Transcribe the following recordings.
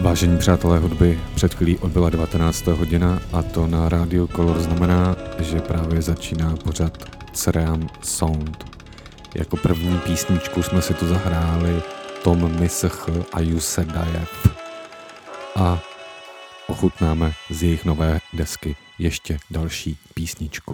Vážení přátelé hudby, před chvílí odbyla 19. hodina a to na rádiu Color znamená, že právě začíná pořad Ceream Sound. Jako první písničku jsme si tu zahráli Tom Misch a Yusedayev a ochutnáme z jejich nové desky ještě další písničku.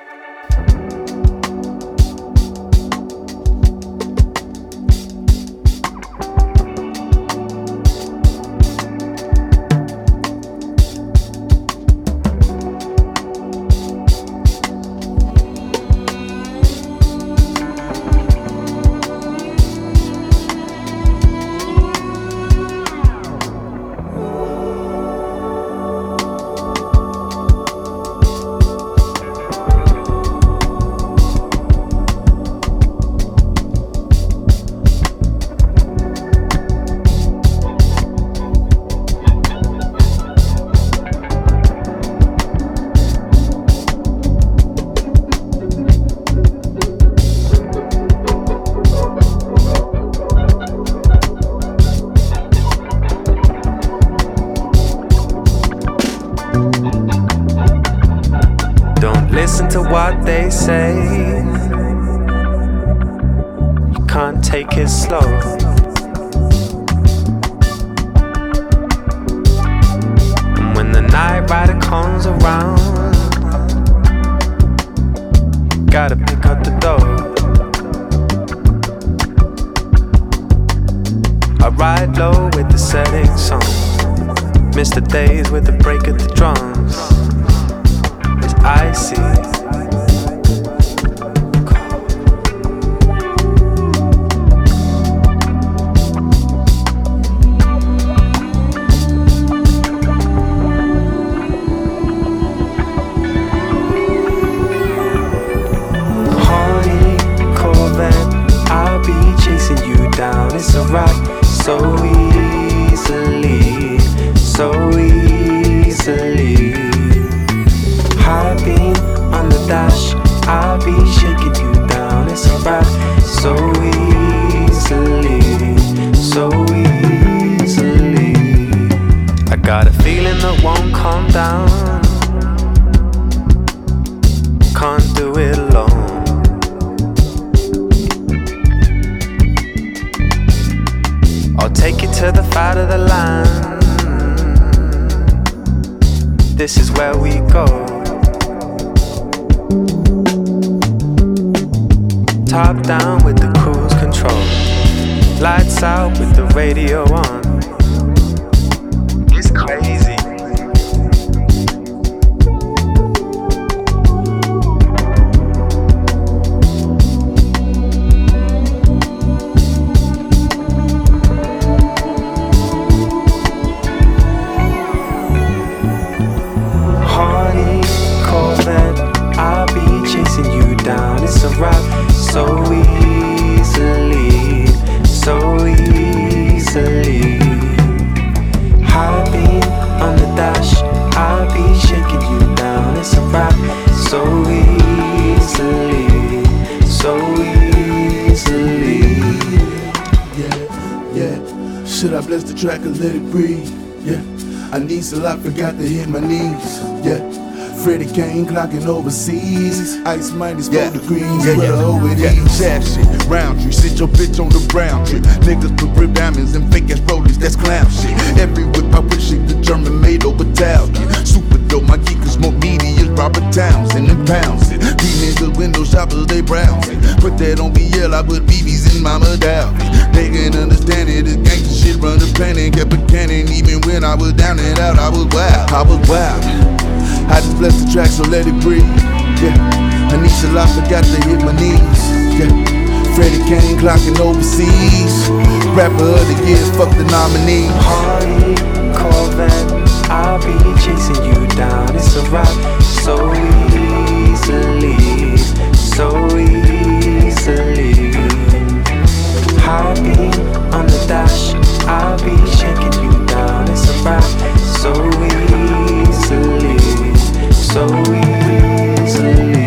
I forgot to hit my knees, yeah. Freddie Kane clocking overseas. Ice minus 4 degrees, over these. Jab shit, round tree, sit your bitch on the brown tree. Niggas put rib diamonds and fake ass rollies, that's clown shit. Every whip I wish it the German made over Italian. Super dope, my geekers more meaty as Robert Townsend and pounds it. These niggas window shoppers, they browsing. Put that on BL, I put BBs in Mama Dalvin. They can understand it, this gangsta shit run the planet. Kept a cannon, even when I was down and out, I was wild. I just blessed the track, so let it breathe, yeah. Anisha La forgot to hit my knees, yeah. Freddie Kane clocking overseas. Rapper of the year, fuck the nominee. Hardy, Corvette, I'll be chasing you down. It's a rock so easily, so easily. High beam on the dash, I'll be shaking you down. It's a rock so easily, so easily.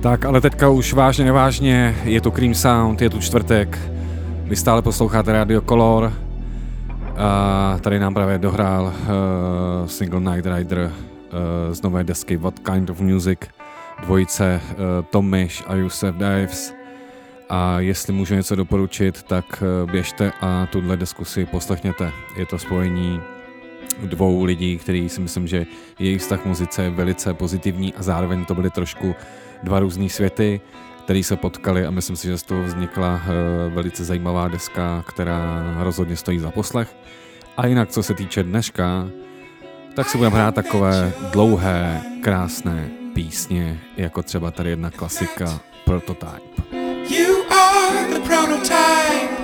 Tak, ale teďka už vážně nevážně, je tu Cream Sound, je tu čtvrtek, vy stále posloucháte Radio Color a tady nám právě dohrál single Night Rider z nové desky What Kind of Music, dvojice Tom Misch a Yusef Dives. A jestli můžu něco doporučit, tak běžte a tuhle desku si poslechněte. Je to spojení dvou lidí, který si myslím, že jejich vztah k muzice je velice pozitivní a zároveň to byly trošku dva různý světy, který se potkali a myslím si, že z toho vznikla velice zajímavá deska, která rozhodně stojí za poslech. A jinak, co se týče dneška, tak si budeme hrát takové dlouhé, krásné písně, jako třeba tady jedna klasika Prototype. You are the prototype.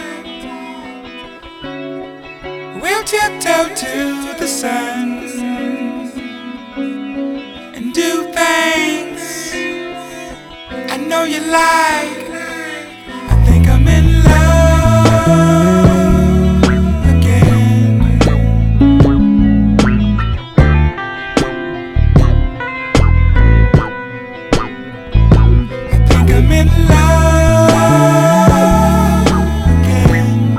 We'll tiptoe to the sun and do things I know you like. I think I'm in love again. I think I'm in love again.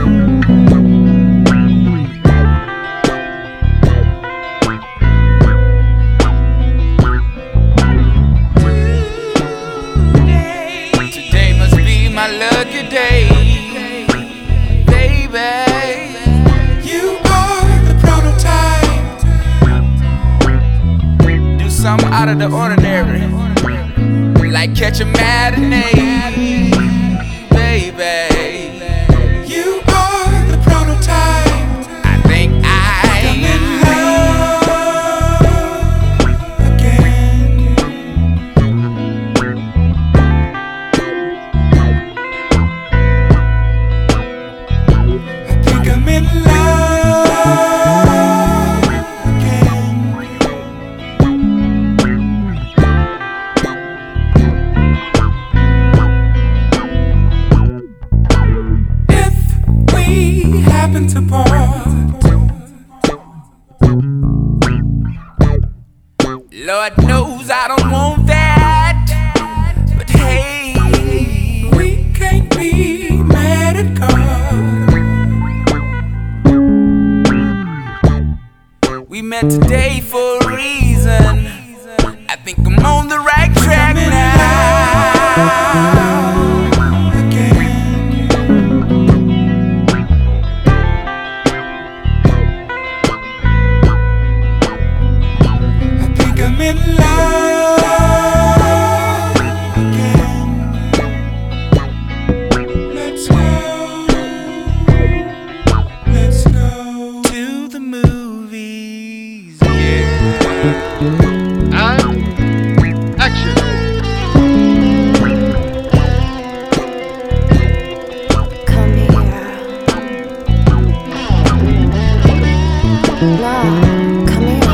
Today must be my lucky day, baby. You are the prototype. Do something out of the ordinary, like catch a matinee, baby. You are the prototype. I think I'm in love again. I think I'm in love again. If we happen to part, Lord knows I don't want that, but hey, we can't be mad at God. We met today for a reason. I think I'm on the right track now. Again. I think I'm in love again. Let's go. Let's go to the movies. Yeah. And action. Come here. No, come here.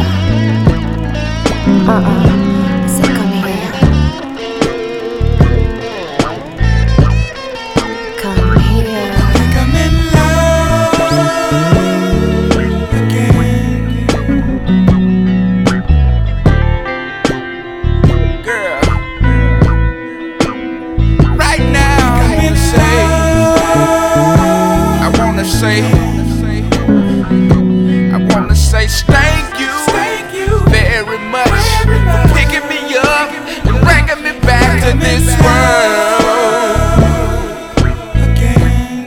I said come here. Come here. Think I'm in love again. Girl, right now I wanna say thank you very much for picking me up and bringing me back to this world again.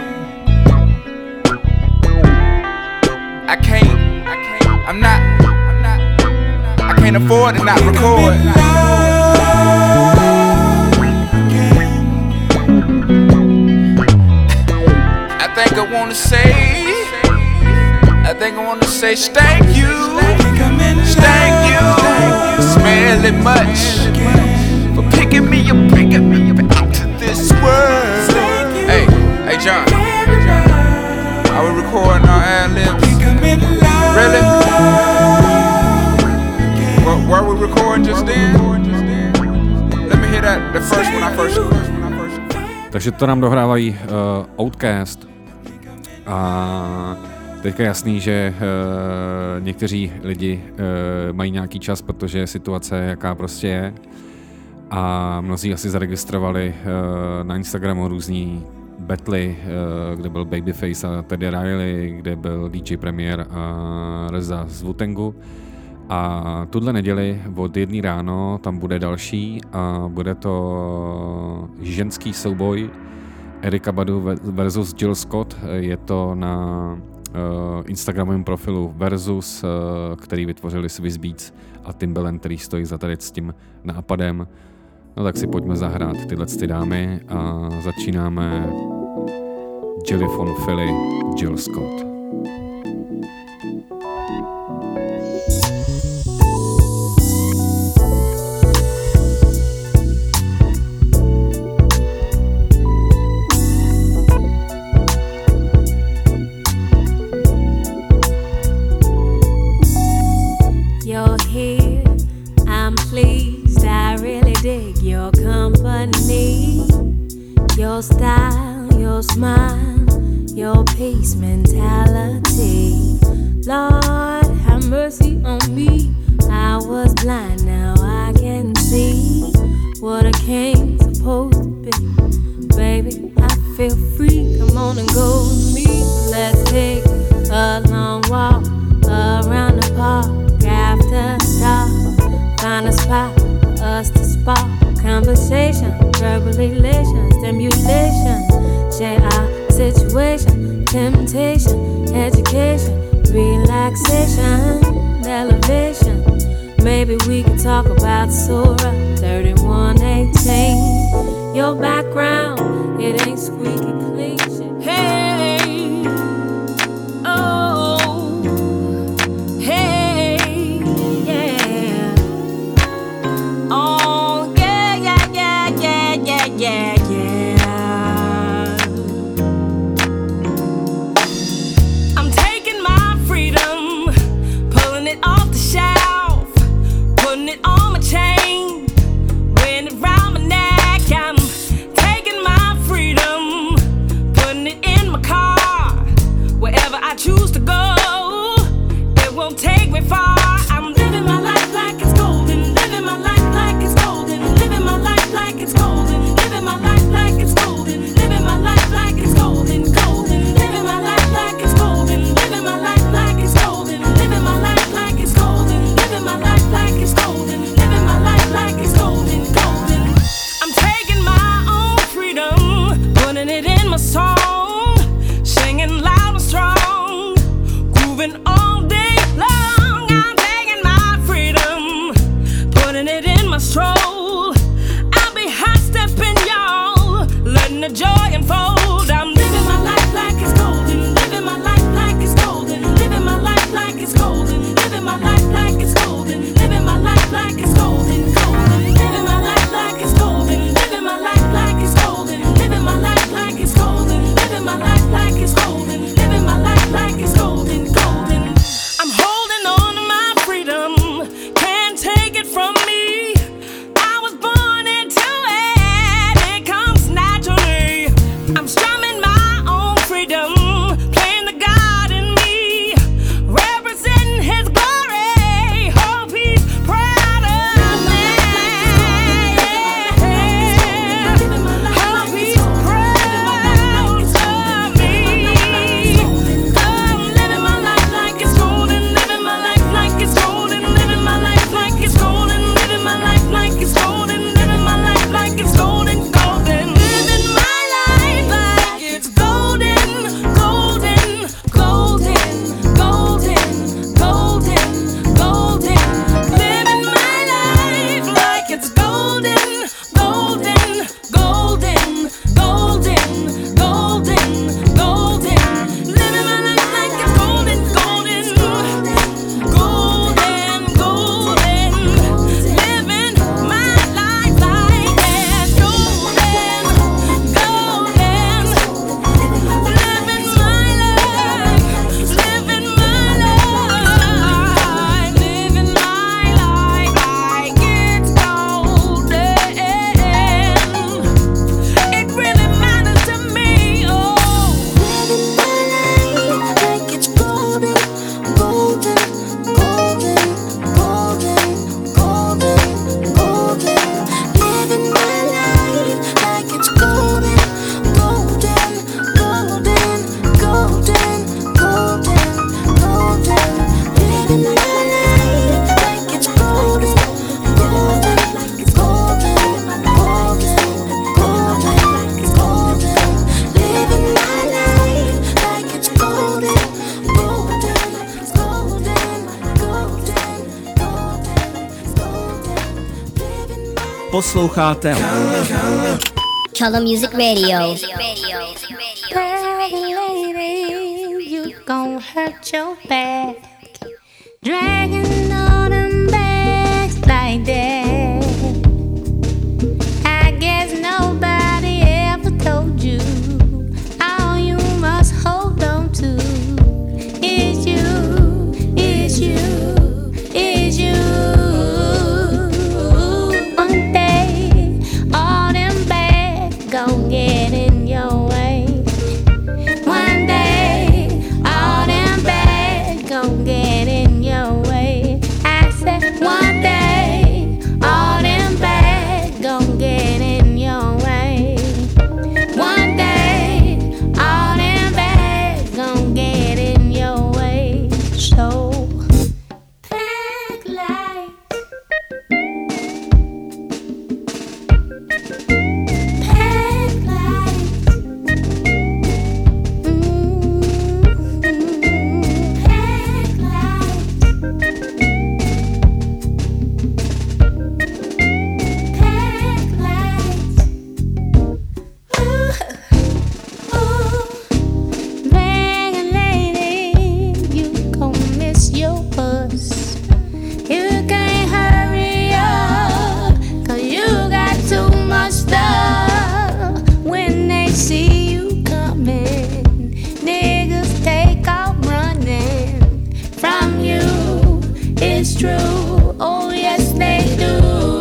I can't afford to not record. I think I wanna say thank you, thank you, smelly much for picking me up, bringing me back to this world. Hey John, are we recording our ad-libs? Really? Were we recording just then? Let me hear the first one I first. Takže to nám dohrávají Outcast a teďka je jasný, že někteří lidi mají nějaký čas, protože situace jaká prostě je A mnozí asi zaregistrovali na Instagramu různý battly, kde byl Babyface a Teddy Riley, kde byl DJ Premier a Reza z Wu-Tangu. A tuhle neděli od 1 ráno tam bude další a bude to ženský souboj Erykah Badu versus Jill Scott. Je to na Instagramovém profilu Versus, který vytvořili Swiss Beats a Timbaland, který stojí za tady s tím nápadem. No tak si pojďme zahrát tyhle dámy a začínáme Jelly von Philly, Jill Scott. You're here, I'm pleased, I really dig your company, your style, your smile, your peace mentality. Lord, have mercy on me, I was blind, now I can see what I came supposed to be. Baby, I feel free, come on and go with me. Let's take a long walk around the park. After dark, find a spot for us to spark conversation, verbal elation, stimulation, share our situation, temptation, education, relaxation, elevation. Maybe we could talk about Surah 31:18. Your background, it ain't squeaky clean shit. Hey, oh. Yeah, yeah. I'm taking my freedom, pulling it off the shelf, putting it on my chain, wearing it round my neck. I'm taking my freedom, putting it in my car, wherever I choose to go, it won't take me far. I'm living my life like it's golden, living my life like it's golden, living my life like it's golden. Living my life like it's golden, living my life like it's golden, golden. Living my life like it's golden, living my life like it's golden, living my life like it's golden, living my life like it's golden, living my life like it's golden, golden. I'm taking my own freedom, putting it in my song, singing loud and strong, grooving all day long. I'm taking my freedom, putting it in my stroll. The joy unfold. I'm living my life like it's golden, living my life like it's golden, living my life like it's golden, living my life like it's golden, living my life like it's golden, golden, living my life like it's golden, living my life like it's golden, living my life like it's golden, living my life like it's golden, living my life like it's golden, golden. I'm holding on to my freedom, can't take it from me. I was born into it, it comes naturally. I'm strumming my own freedom, playing the God in me, representing His glory. Hope He's proud of me. Posloucháte Color Music Radio. You gon' hurt your back, dragging on them bags like that. I guess nobody ever told you all you must hold on to is you, is you, is you. One day, all them bags gon' get in your way. One day, all them bags gon' get in your way. I said one day, all them bags gon' get in your way. One day, all them bags gon' get in your way. So pack light, pack light. It's true, oh yes they do.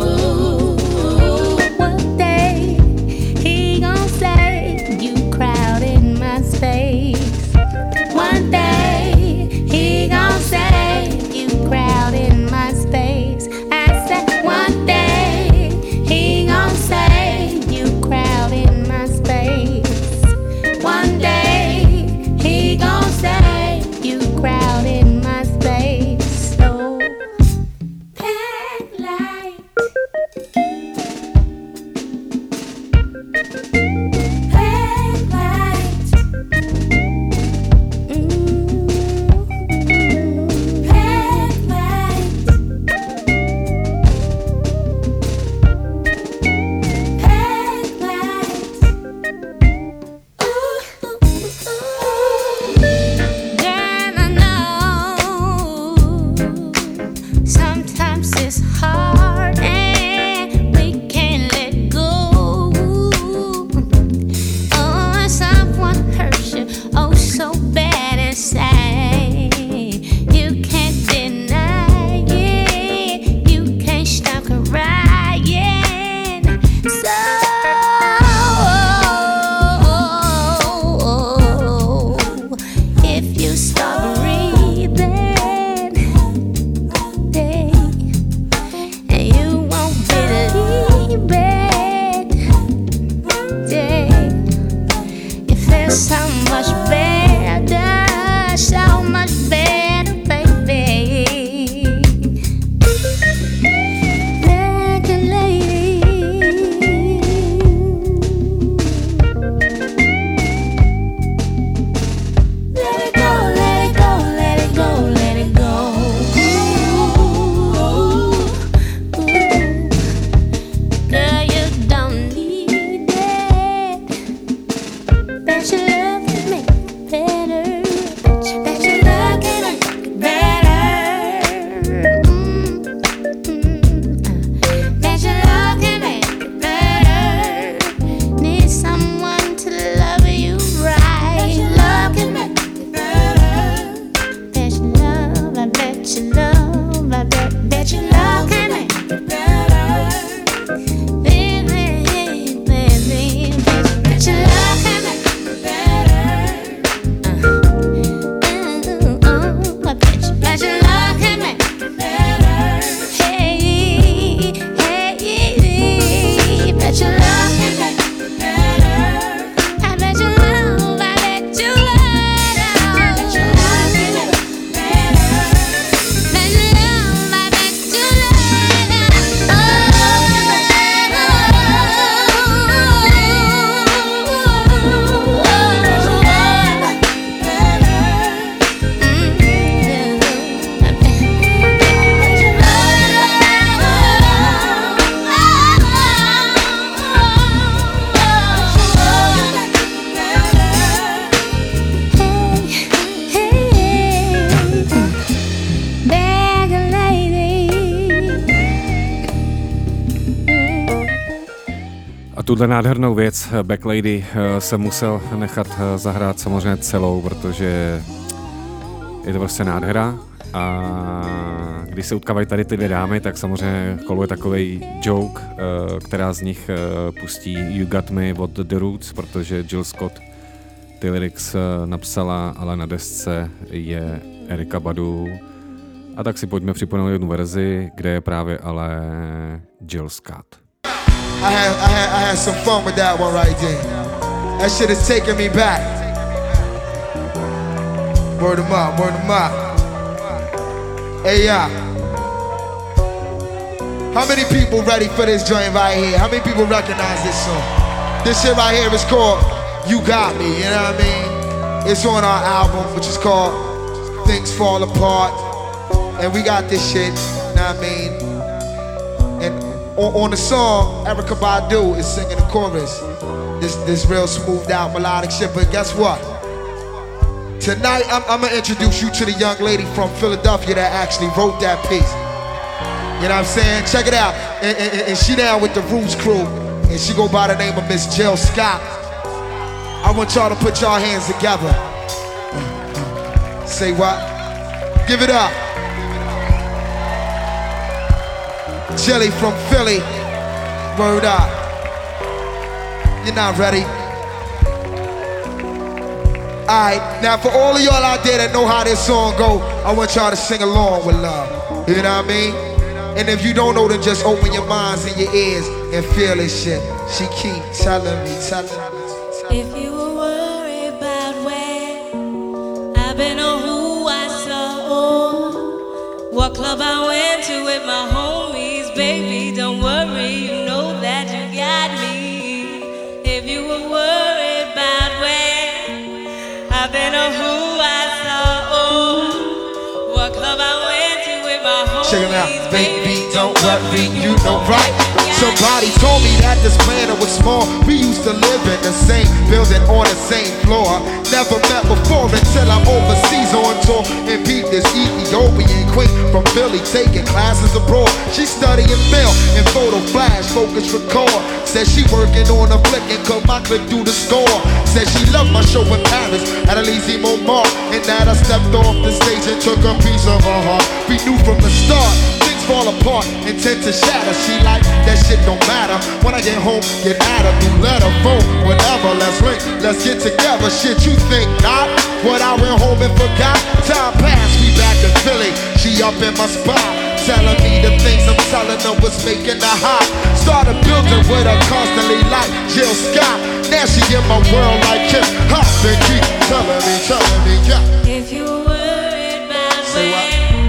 One day he gon' say you crowding my space. One day he gon' say you crowding my space. I said one day he gon' say you crowding my space. One day he gon' say you crowding my space. So pack light, pack light, pack light, pack light. Girl, I know sometimes it's hard and we can't let go. Oh, when someone hurts you, oh so bad inside, you can't deny it, you can't stop crying. So if you stop breathing, and you won't believe it, it feels so much better, so much better, baby. Like a lady. Let it go, let it go, let it go, let it go. Girl, you don't need it. Bet your love can make it better. Bet your love can make it better. Bet your love can make it better. Need someone to love you right. Love can make it better. Bet your love, I bet your love, I bet your love can make it better. Baby, baby, bet your love can make it better. I bet your love can make it better. Hey, hey, bet your love can make it better. I bet your love, I bet your love, bet your love can make it better. Bet your love, I bet your A tuhle nádhernou věc Back Lady jsem musel nechat zahrát samozřejmě celou, protože je to prostě nádhera. A když se utkávají tady ty dvě dámy, tak samozřejmě koluje takovej joke, která z nich pustí You Got Me od The Roots, protože Jill Scott ty lyrics napsala, ale na desce je Erykah Badu. A tak si pojďme připomenout jednu verzi, kde je právě ale Jill Scott. I had some fun with that one right there. That shit is taking me back. Word 'em up, word 'em up. Hey, yeah. How many people ready for this joint right here? How many people recognize this song? This shit right here is called You Got Me, you know what I mean? It's on our album, which is called Things Fall Apart. And we got this shit, you know what I mean? And on the song, Erykah Badu is singing the chorus. This real smoothed out melodic shit, but guess what? Tonight, I'm gonna introduce you to the young lady from Philadelphia that actually wrote that piece. You know what I'm saying? Check it out. And she down with the Roots crew, and she go by the name of Miss Jill Scott. I want y'all to put y'all hands together. Say what? Give it up. Jilly from Philly. Word up. You're not ready? Alright, now for all of y'all out there that know how this song go, I want y'all to sing along with love. You know what I mean? And if you don't know, then just open your minds and your ears and feel this shit. She keep telling me. If you were worried about where I've been or who I saw or what club I went to with my homies, baby, don't worry, you know that you got me. If you were worried about where I've been or who I saw or what club I went to with my homies, check it out, baby, don't worry, you know right. Somebody told me that this planet was small. We used to live in the same building on the same floor. Never met before until I'm overseas on tour and beat this Ethiopian queen from Philly taking classes abroad. She studying film and photo flash, focus record. Said she working on a flick and cut my clip through the score. Said she loved my show in Paris at Elysée Montmartre, and that I stepped off the stage and took a piece of her heart. We knew from the start fall apart and tend to shatter. She like, that shit don't matter. When I get home, get at her, new letter, phone, whatever. Let's link, let's get together. Shit, you think not? What I went home and forgot? Time passed, we back in Philly. She up in my spot, telling me the things I'm telling her was making her hot. Started building with her constantly like Jill Scott. Now she in my world like hip hop and keep telling me, yeah. If you were worried about say what?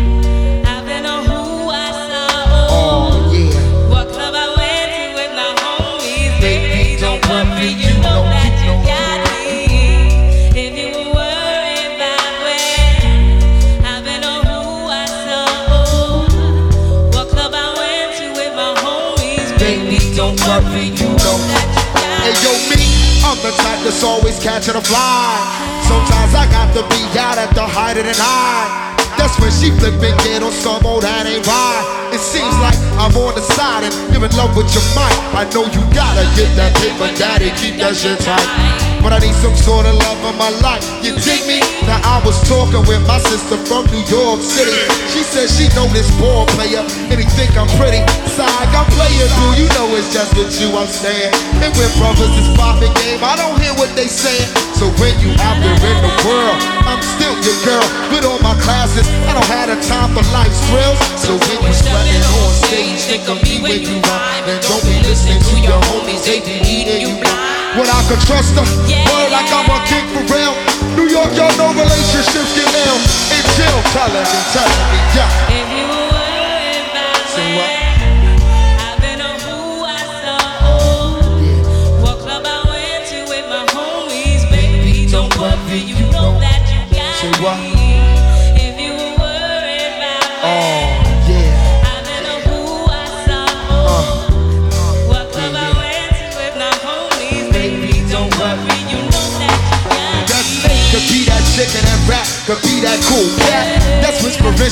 You know that you got me. If you were worried about where I've been or who I saw, what club I went to with my homies, baby, don't worry, you know that you got me. Hey yo, me, I'm the type that's always catching a fly. Sometimes I got to be out at the height of the night. That's when she flip and get on some old that ain't right. It seems like I'm on the side and you're in love with your mind. I know you gotta get that paper, daddy, keep that shit tight. But I need some sort of love in my life. You dig me? Now I was talking with my sister from New York City. She said she know this ball player and he think I'm pretty. Side, I'm playing through, you know it's just with you I'm staying. And when brothers is popping game, I don't hear what they saying. So when you out there in the world, I'm still your girl. With all my classes, I don't have the time for life's thrills. So when you sweating on stage, think of me when you rhyme. And don't be listening to your homies, they be eating you blind. When I could trust her, word like I'm a king for real. New York, y'all know relationships get ill. And Jill telling me, yeah. If you were worried about say what? I've been or who I saw, what club I went to with my homies, baby, don't worry, you know that you got say what? me. If you were worried about I've been or who I saw, what club I went to with my homies, baby, don't worry, you know that you got me. Could be that chicken and rap, could be that cool cat. That's whispering she try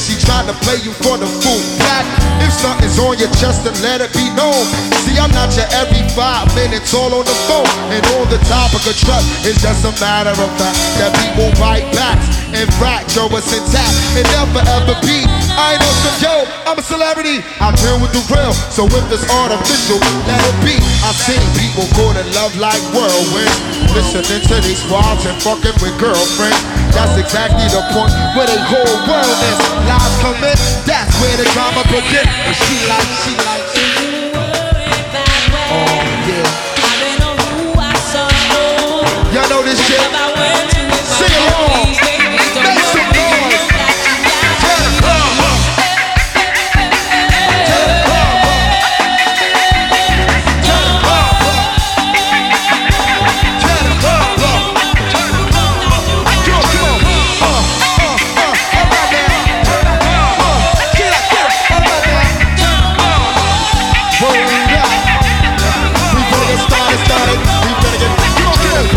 trying to play you for the full pack. If something's on your chest, then let it be known. See, I'm not your every 5 minutes all on the phone. And on the topic of trust, it's just a matter of fact that people bite backs. In fact, yo, it's intact. It never ever be. I know some yo, I'm a celebrity. I deal with the real, so if it's artificial, let it be. I've seen people caught in love like whirlwinds, listening to these squads and fucking with girlfriends. That's exactly the point where they whole world is. Lies come in, that's where the drama begins. And she like. Oh yeah. Y'all know this shit. Sing along. Make some noise. Turn the club up. Turn the club up. Turn the club up. Turn the club up. Turn the club up. Come on. All right now. Turn the club up. Get up. All right now. Hold up. We better get started. We better get. Come on, get it.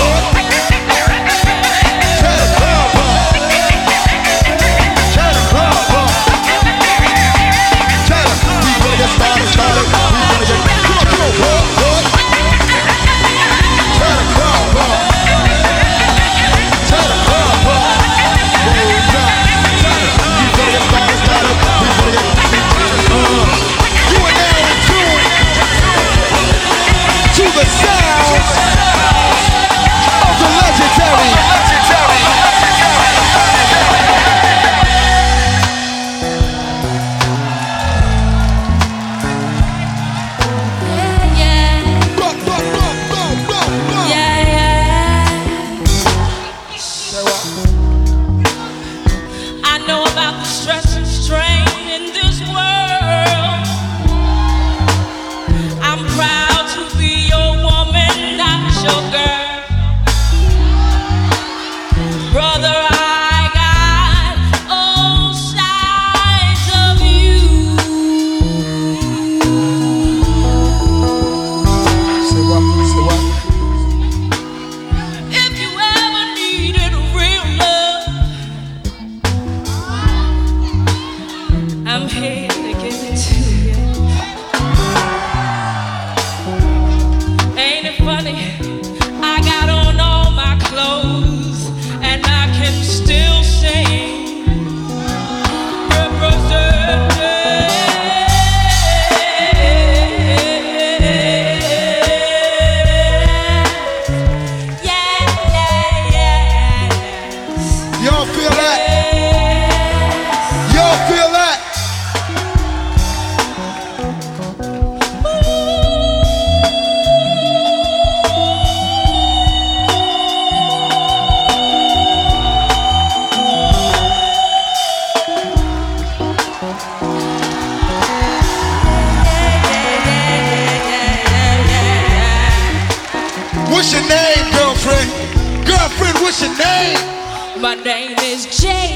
What's your name, girlfriend? Girlfriend, what's your name? My name is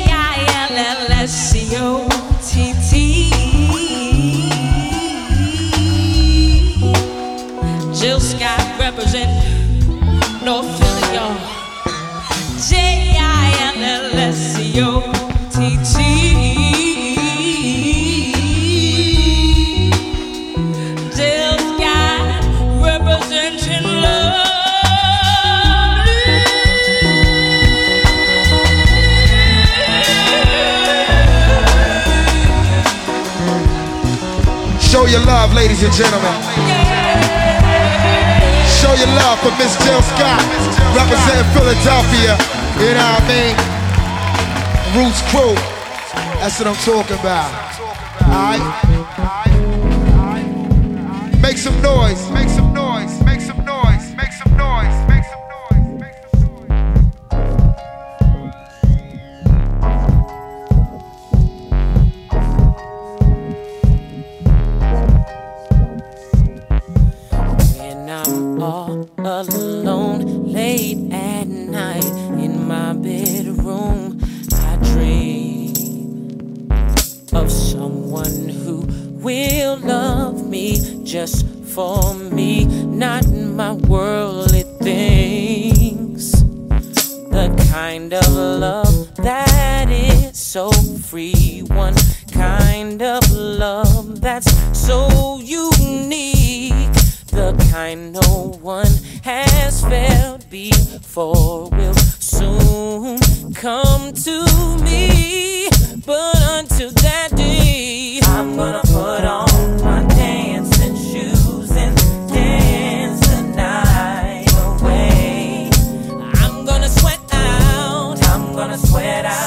Jillscott. Jill Scott represent North Philly, y'all. Jillscott. Jill Scott representing love. Show your love, ladies and gentlemen. Show your love for Miss Jill Scott, representing Philadelphia. You know what I mean? Roots Crew. That's what I'm talking about. Alright? Make some noise. Make some noise. Make some noise. Make some noise. Make some noise. Make some When I'm all alone, late at night in my bedroom, I dream of someone who will love me just for me, not my worldly things. The kind of love that is so free, one kind of love that's so unique, the kind no one has felt before will soon come to me. But until that day, I'm gonna put on my dancing shoes and dance the night away. I'm gonna sweat out, I'm gonna sweat out.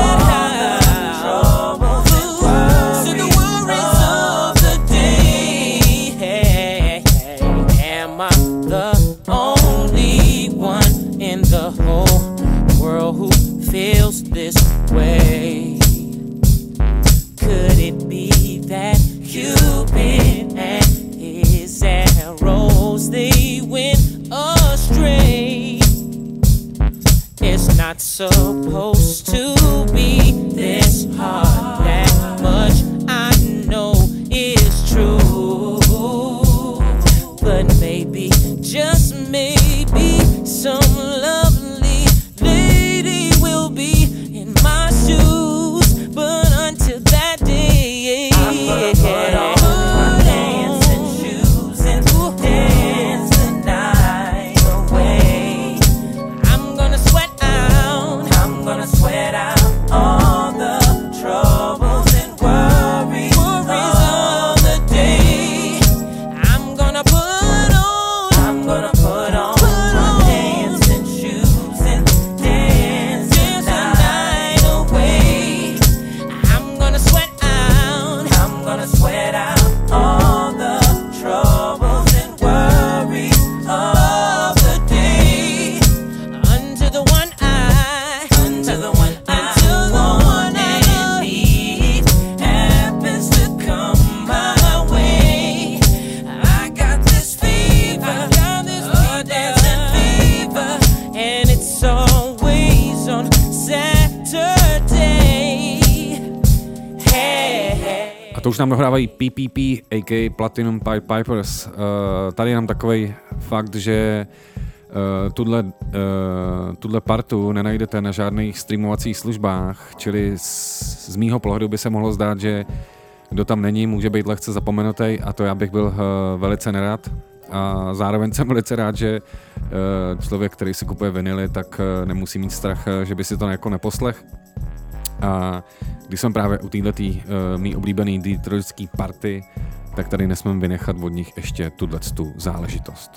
Feels this way. Could it be that Cupid and his arrows, they went astray? It's not supposed to be this hard. That much I know is true. But maybe, just maybe, some lovely lady will be in my shoes. But until that day, I'm gonna put on my dancing shoes and dance the night away. I'm gonna sweat out, I'm gonna sweat out all the troubles and worries of the day. I'm gonna put on my dancing shoes and dance the night away. I'm gonna sweat out all the troubles and worries of the day. Until the one I need happens to come my way. I got this fever, a dancing fever, and it's always on Saturday. Hey. A to už nám dohrávají PPP, a.k.a. Platinum Pied Pipers. Tady je nám takovej fakt, že tuhle partu nenajdete na žádných streamovacích službách, čili z mýho pohledu by se mohlo zdát, že kdo tam není, může být lehce zapomenutý, a to já bych byl velice nerad. A zároveň jsem velice rád, že člověk, který si kupuje vinily, tak nemusí mít strach, že by si to jako neposlech. A když jsem právě u této mý oblíbený detroitský party, tak tady nesmím vynechat od nich ještě tu záležitost.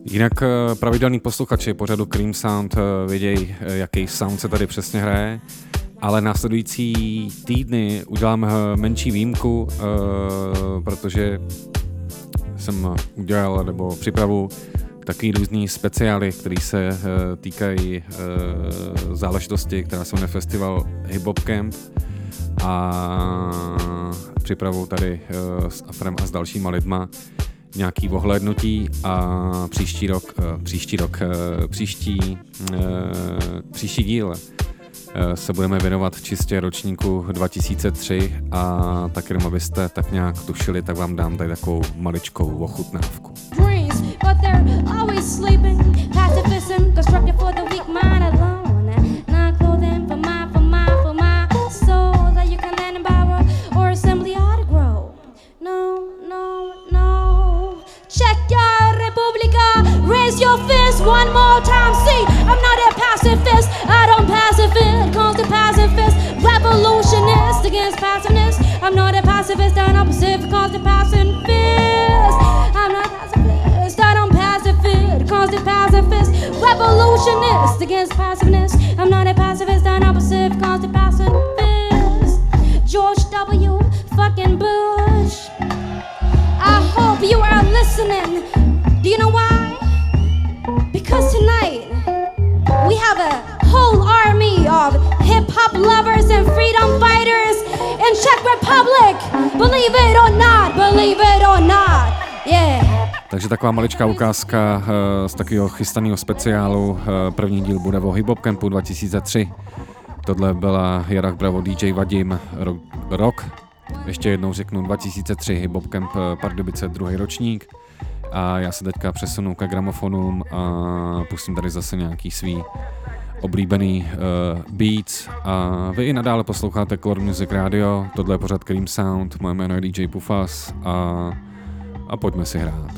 Jinak pravidelní posluchači pořadu Cream Sound vědějí, jaký sound se tady přesně hraje, ale následující týdny udělám menší výjimku, protože jsem udělal nebo připravu takový různý speciály, které se týkají záležitosti, která se jmenuje festival Hip Hop Camp, a připravu tady s Afrem a s dalšíma lidma nějaký ohlédnutí a příští díl se budeme věnovat čistě ročníku 2003 a tak jenom abyste tak nějak tušili, tak vám dám tady takovou maličkou ochutnávku. But they're always sleeping. Pacifism, constructed for the weak mind alone. Not clothing for my soul that you can lend and borrow or simply ought to grow. No. Check your Republica. Raise your fist one more time. See, I'm not a pacifist. I don't pacifist. Calls the pacifist. Revolutionist against passiveness. I'm not a pacifist. I'm opposite. Calls the pacifist. I'm not pacifist. I don't pacifist. Calls the pacifist. Revolutionist against passiveness. I'm not a pacifist. I'm opposite. Calls the pacifist. George W. fucking Bush. I hope you are listening. Do you know why? Because tonight we have a whole army of hip-hop lovers and freedom fighters in Czech Republic. Believe it or not, yeah. Takže taková maličká ukázka z takového chystaného speciálu. První díl bude o Hip Hop Campu 2003. Tohle byla Jarach Bravo, DJ Vadim, rok. Ještě jednou řeknu 2003 Hip Hop Camp Pardubice, druhý ročník. A já se teďka přesunu ke gramofonům a pustím tady zase nějaký svý oblíbený beats. A vy i nadále posloucháte Color Music Radio, tohle je pořad Cream Sound, moje jméno je DJ Pufas a pojďme si hrát.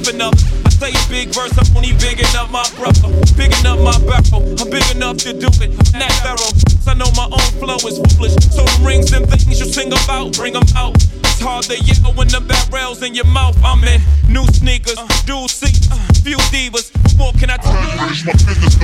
puffing up. I say a big verse, I'm only bigging up my brother, bigging up my barrel. I'm big enough to do it, I'm that thorough. I know my own flow is foolish, so the rings and things you sing about, bring them out. It's hard to yell when the barrel's in your mouth. I'm in new sneakers, dual seats, few divas. What can I tell you? Where's my business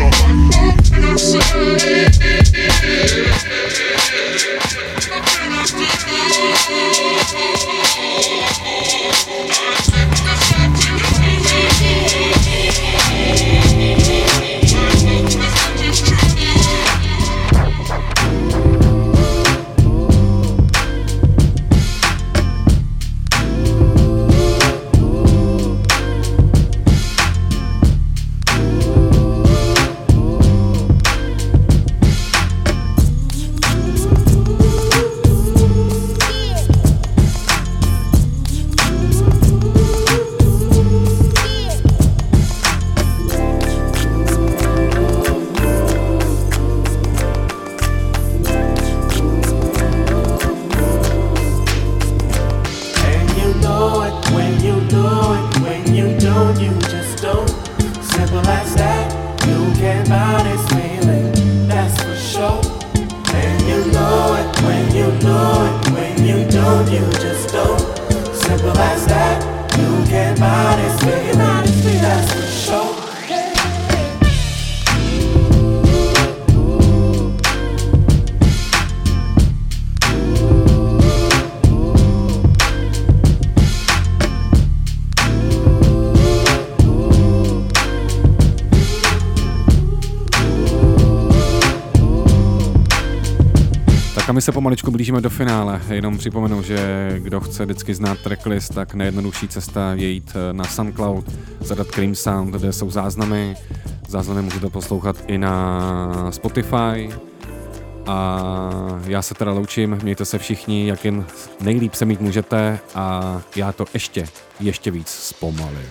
A my se pomaličku blížíme do finále. Jenom připomenu, že kdo chce vždycky znát tracklist, tak nejjednodušší cesta je jít na SoundCloud, zadat Cream Sound, kde jsou záznamy. Záznamy můžete poslouchat i na Spotify. A já se teda loučím, mějte se všichni, jak jen nejlíp se mít můžete a já to ještě víc zpomalím.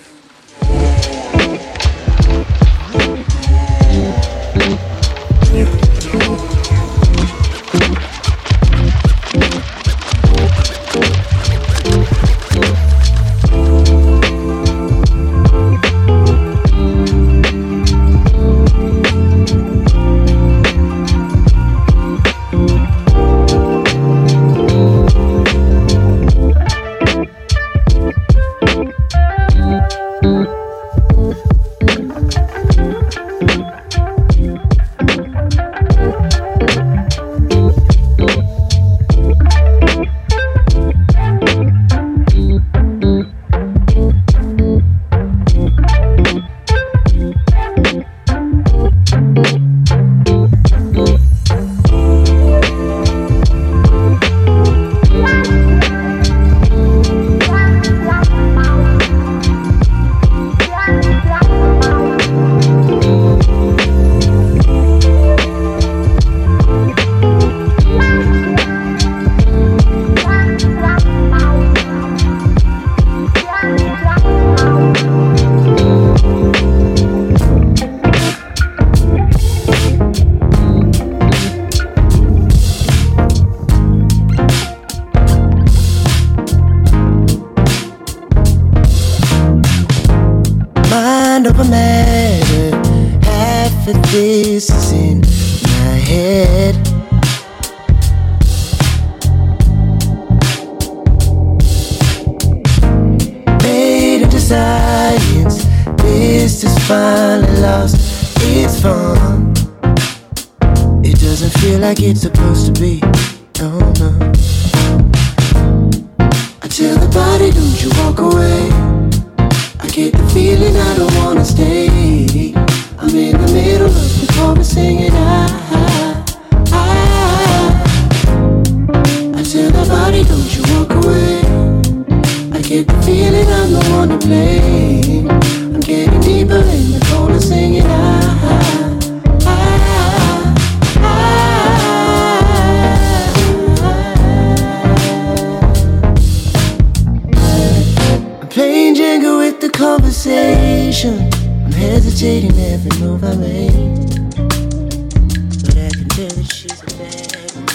It's supposed to be, oh no. I tell the body, don't you walk away. I get the feeling I don't wanna stay. I'm in the middle of the chorus singing I tell the body, don't you walk away. I get the feeling I'm the one to blame. I'm getting deeper in the chorus singing conversation. I'm hesitating every move I make, but I can tell that she's a bad one.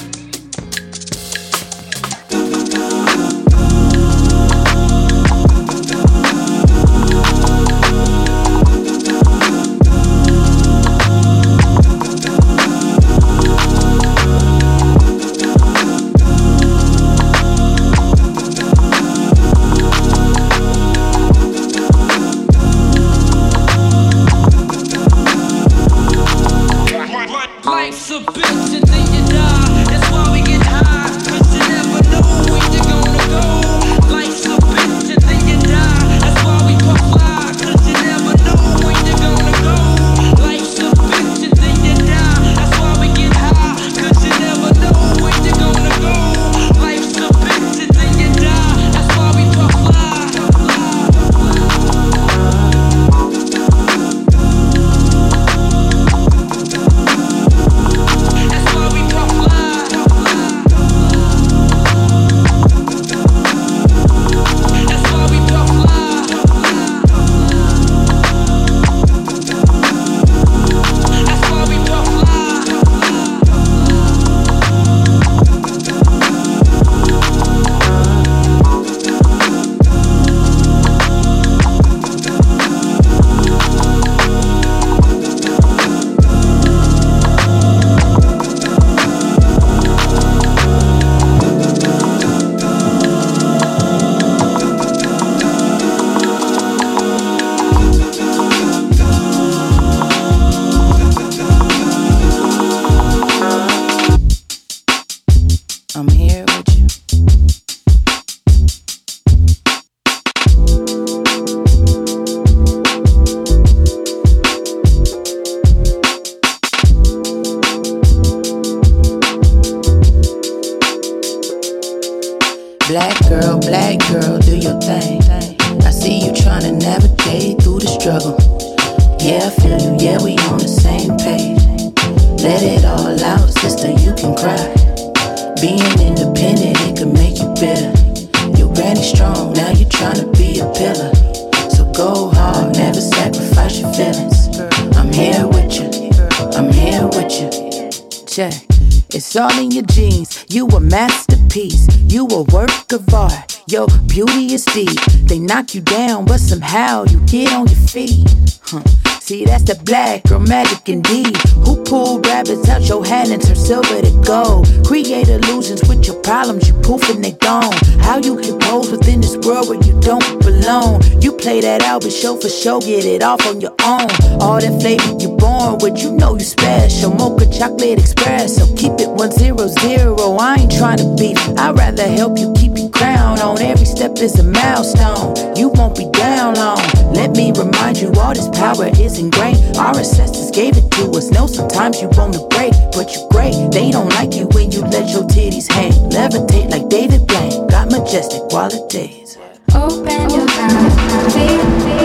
Black girl, do your thing. I see you trying to navigate through the struggle. Yeah, I feel you, yeah, we on the same page. Let it all out, sister, you can cry. Being independent, it could make you bitter. Your granny strong, now you tryna be a pillar. So go hard, never sacrifice your feelings. I'm here with you, I'm here with you. Check, it's all in your genes. You a masterpiece, you a work of art. Your beauty is deep. They knock you down, but somehow you get on your feet. See, that's the black girl magic indeed. Who pulled rabbits out your hand and turned silver to gold? Create illusions with your problems, you poof and they gone. How you can pose within this world where you don't belong? You play that out, but show for show, get it off on your own. All that flavor you born with, you know you special. Mocha chocolate espresso, keep it 100. I ain't trying to beat, I'd rather help you keep your crown on. Every step is a milestone, you won't be down long. Let me remind you, all this power is ingrained. Our ancestors gave it to us. Know sometimes you wanna break, but you great. They don't like you when you let your titties hang. Levitate like David Blaine, got majestic qualities. Open your mouth, baby.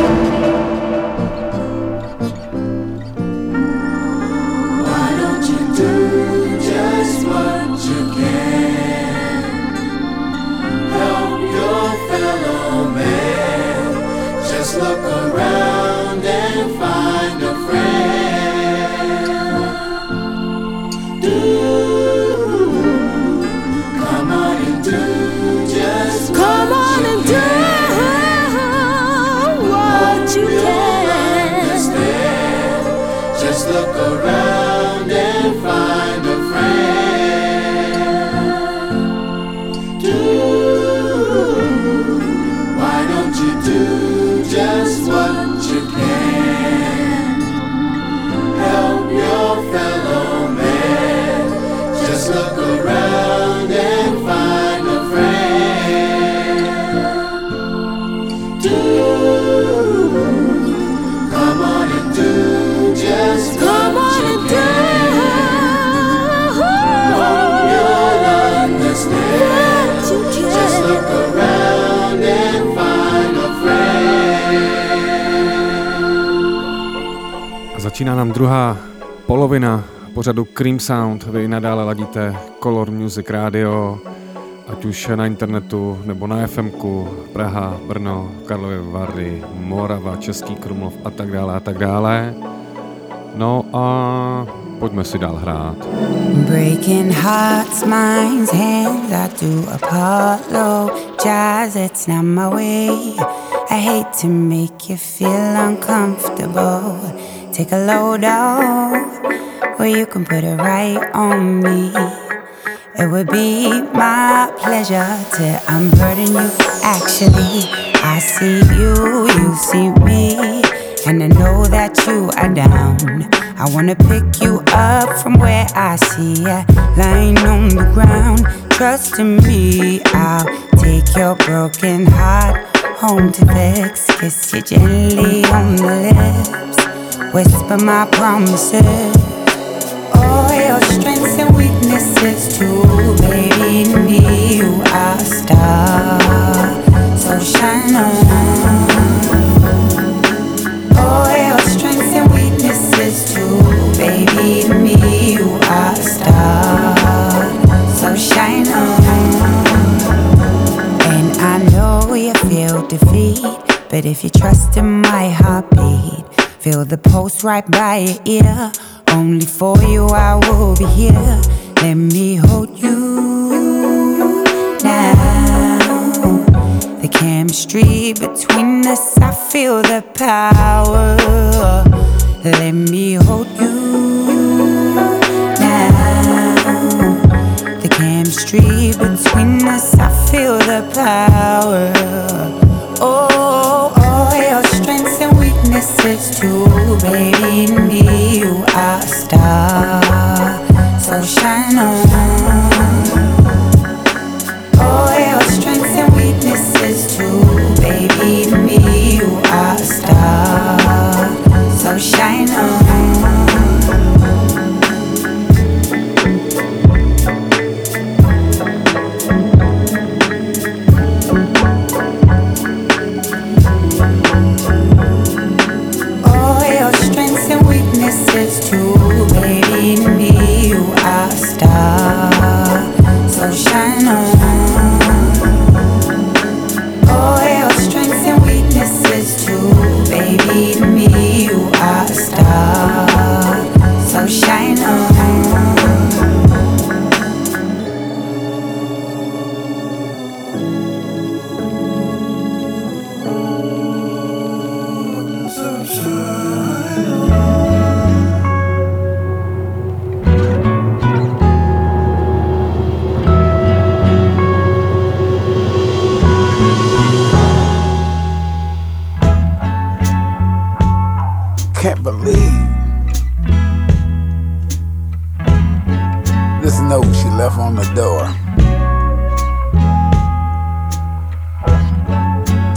Why don't you do just what you can? Help your fellow man. Just look around and find a friend. Come on and do just Come on and do what you can. Understand. Just look around and find a friend. Why don't you do just what you can? Help your fellow man. Just look around and find a friend. Come on and do just what you can. Hope you'll understand. Just look around and find a friend. Začíná nám druhá polovina pořadu Cream Sound. Vy nadále ladíte Color Music Radio, ať už na internetu nebo na FMku, Praha, Brno, Karlovy Vary, Morava, Český Krumlov a tak dále a tak dále. No a pojďme si dál hrát. Breaking hearts, minds, hands, I do apologize, it's not my way. I hate to make you feel uncomfortable. Take a load off, or you can put it right on me. It would be my pleasure to unburden you. Actually, I see you, you see me, and I know that you are down. I wanna pick you up from where I see ya, lying on the ground. Trust in me, I'll take your broken heart home to fix. Kiss you gently on the lips, whisper my promises. All your strengths and weaknesses too, baby. To me, you are a star, so shine on. All your strengths and weaknesses too, baby. To me, you are a star, so shine on. And I know you feel defeat, but if you trust in my heartbeat, feel the pulse right by your ear. Only for you I will be here. Let me hold you now. The chemistry between us, I feel the power. Let me hold you now. The chemistry between us, I feel the power. Oh, all your strengths and weaknesses too, baby. To me, you are a star, so shine on. All your strengths and weaknesses too, baby. To me, you are a star, so shine on.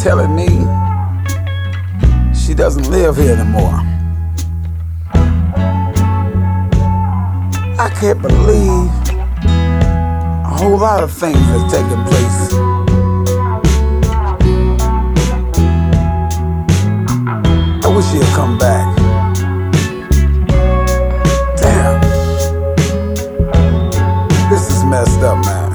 telling me she doesn't live here anymore. I can't believe a whole lot of things that's taking place. I wish she'd come back. Damn. This is messed up, man.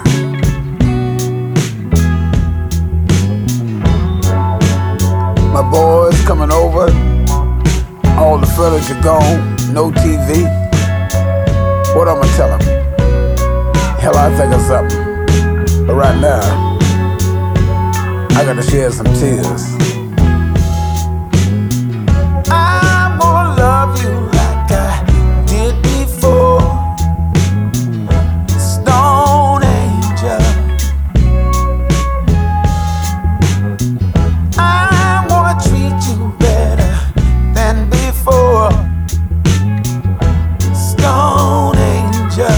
My boys coming over, all the furniture gone, no TV. What I'ma tell them? Hell, I think of something. But right now, I gotta shed some tears. I'm gonna love you like I did before. Stone Angel. I'm gonna treat you better than before. Stone Angel.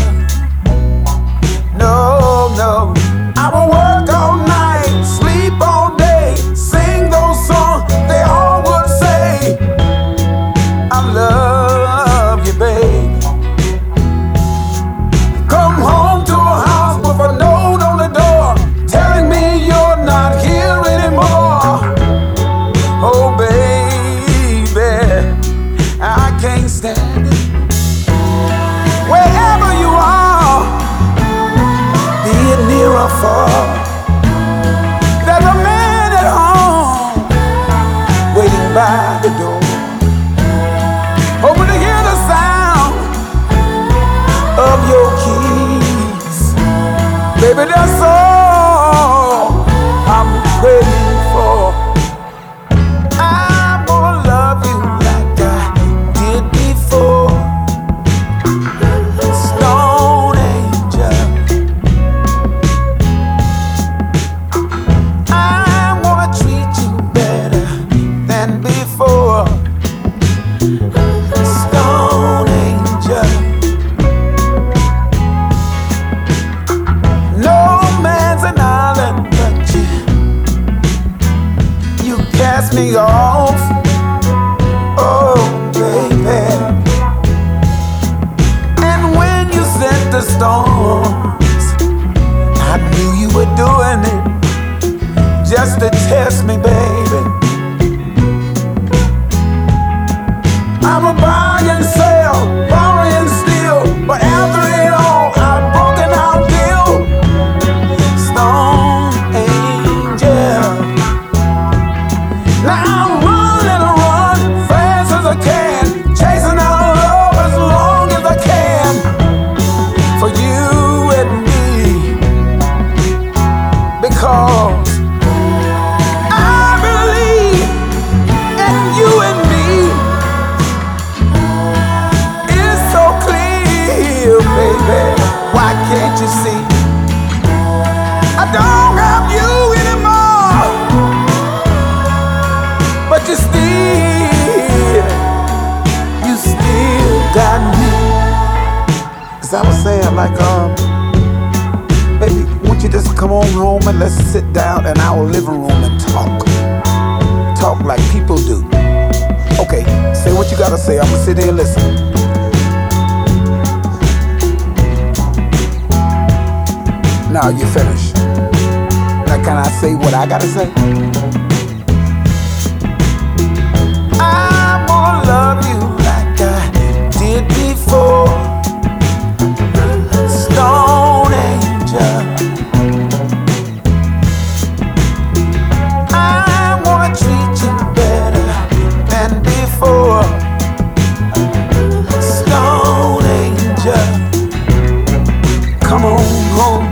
No, no, I will work all night, sleep all day, sing those songs they all would say. I love you, baby. Come home to a house with a note on the door telling me you're not here anymore. Oh, baby, I can't stand it. Wherever you are, be it near or far, there's a man at home waiting by the door, hoping to hear the sound of your keys. Baby, that's all I'm waiting for. I'm gonna love you like I did before. Stone Angel. I'm gonna treat you better than before. Stone Angel. No man's an island but you. You cast me off. Oh, baby. And when you sent the storms, I knew you were doing it just to test me, baby. I'm a buy and sell, borrow and steal, but after it all, I've broken our deal. Stone Angel. Now I'm running run fast as I can, chasing our love as long as I can. For you and me, because I believe in you and me. It's so clear, baby. Why can't you see? I don't have you anymore, but you still got me. As I was saying, like, baby, won't you just come on home and let's sit down in our living room and talk like people do. Okay, say what you gotta say. I'm gonna sit here and listen. Now you finish. Now can I say what I gotta say? I'm gonna love you like I did before. Stone Angel. I wanna treat you better than before. Stone Angel. Come on home.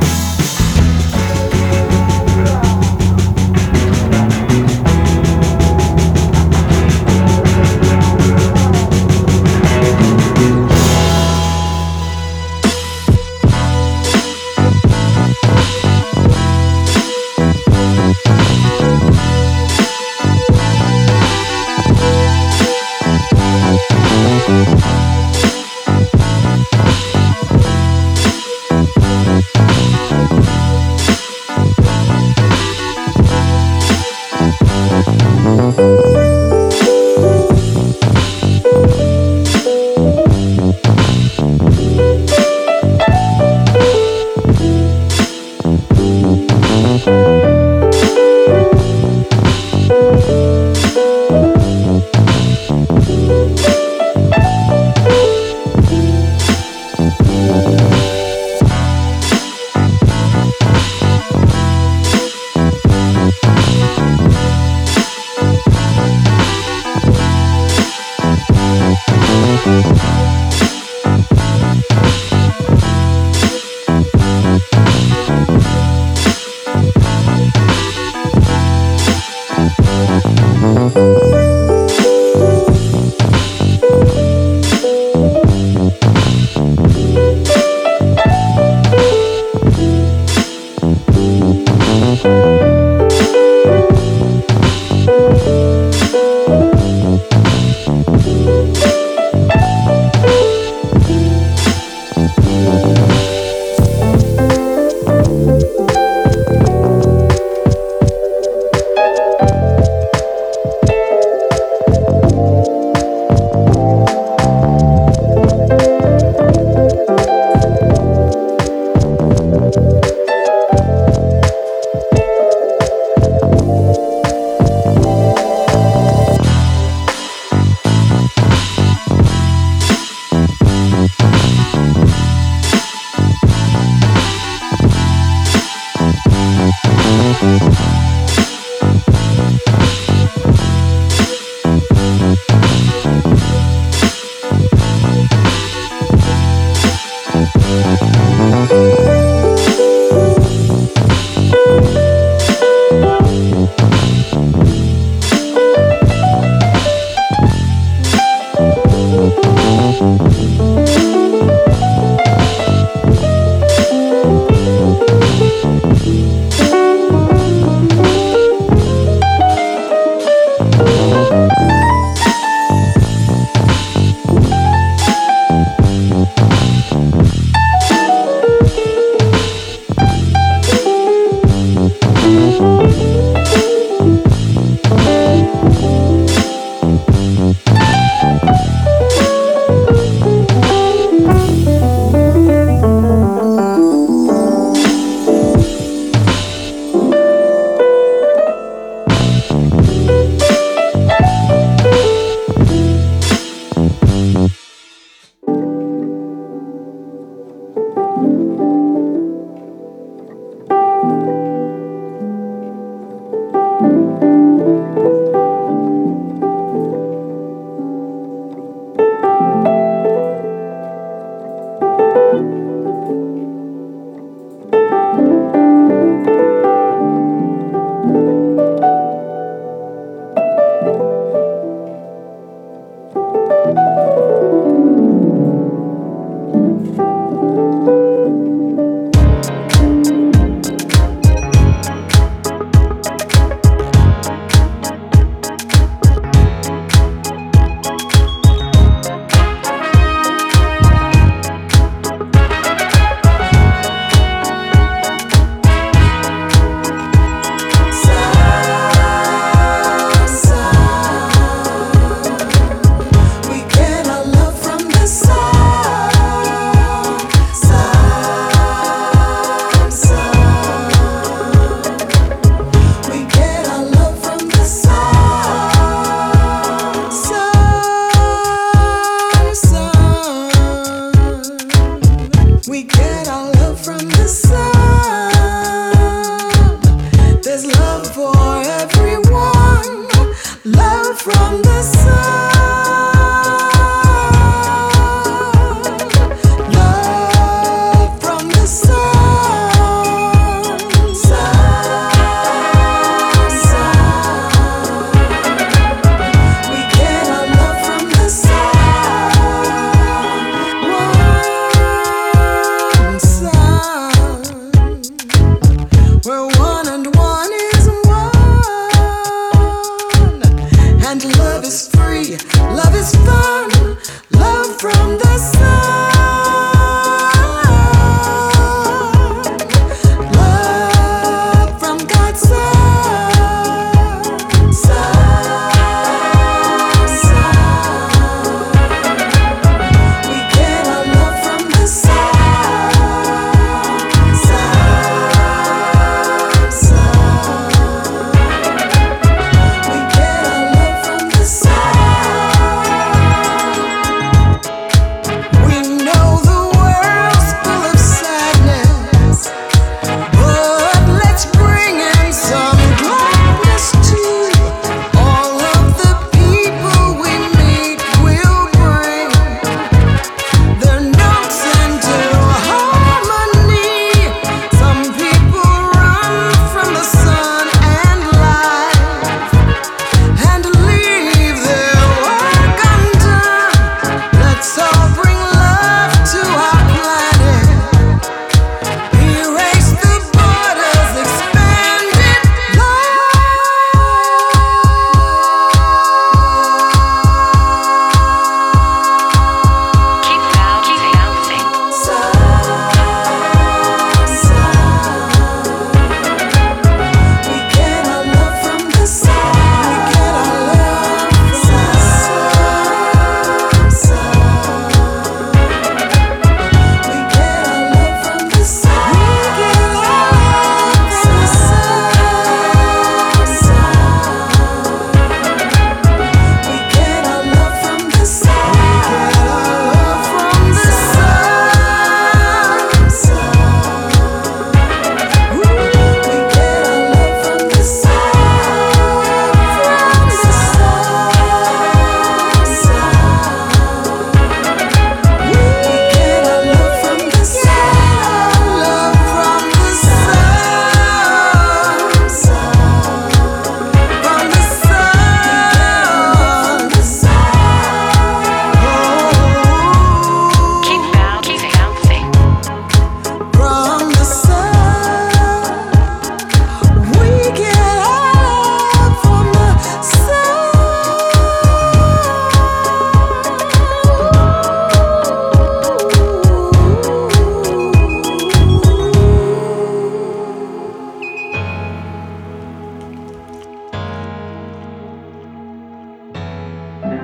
And love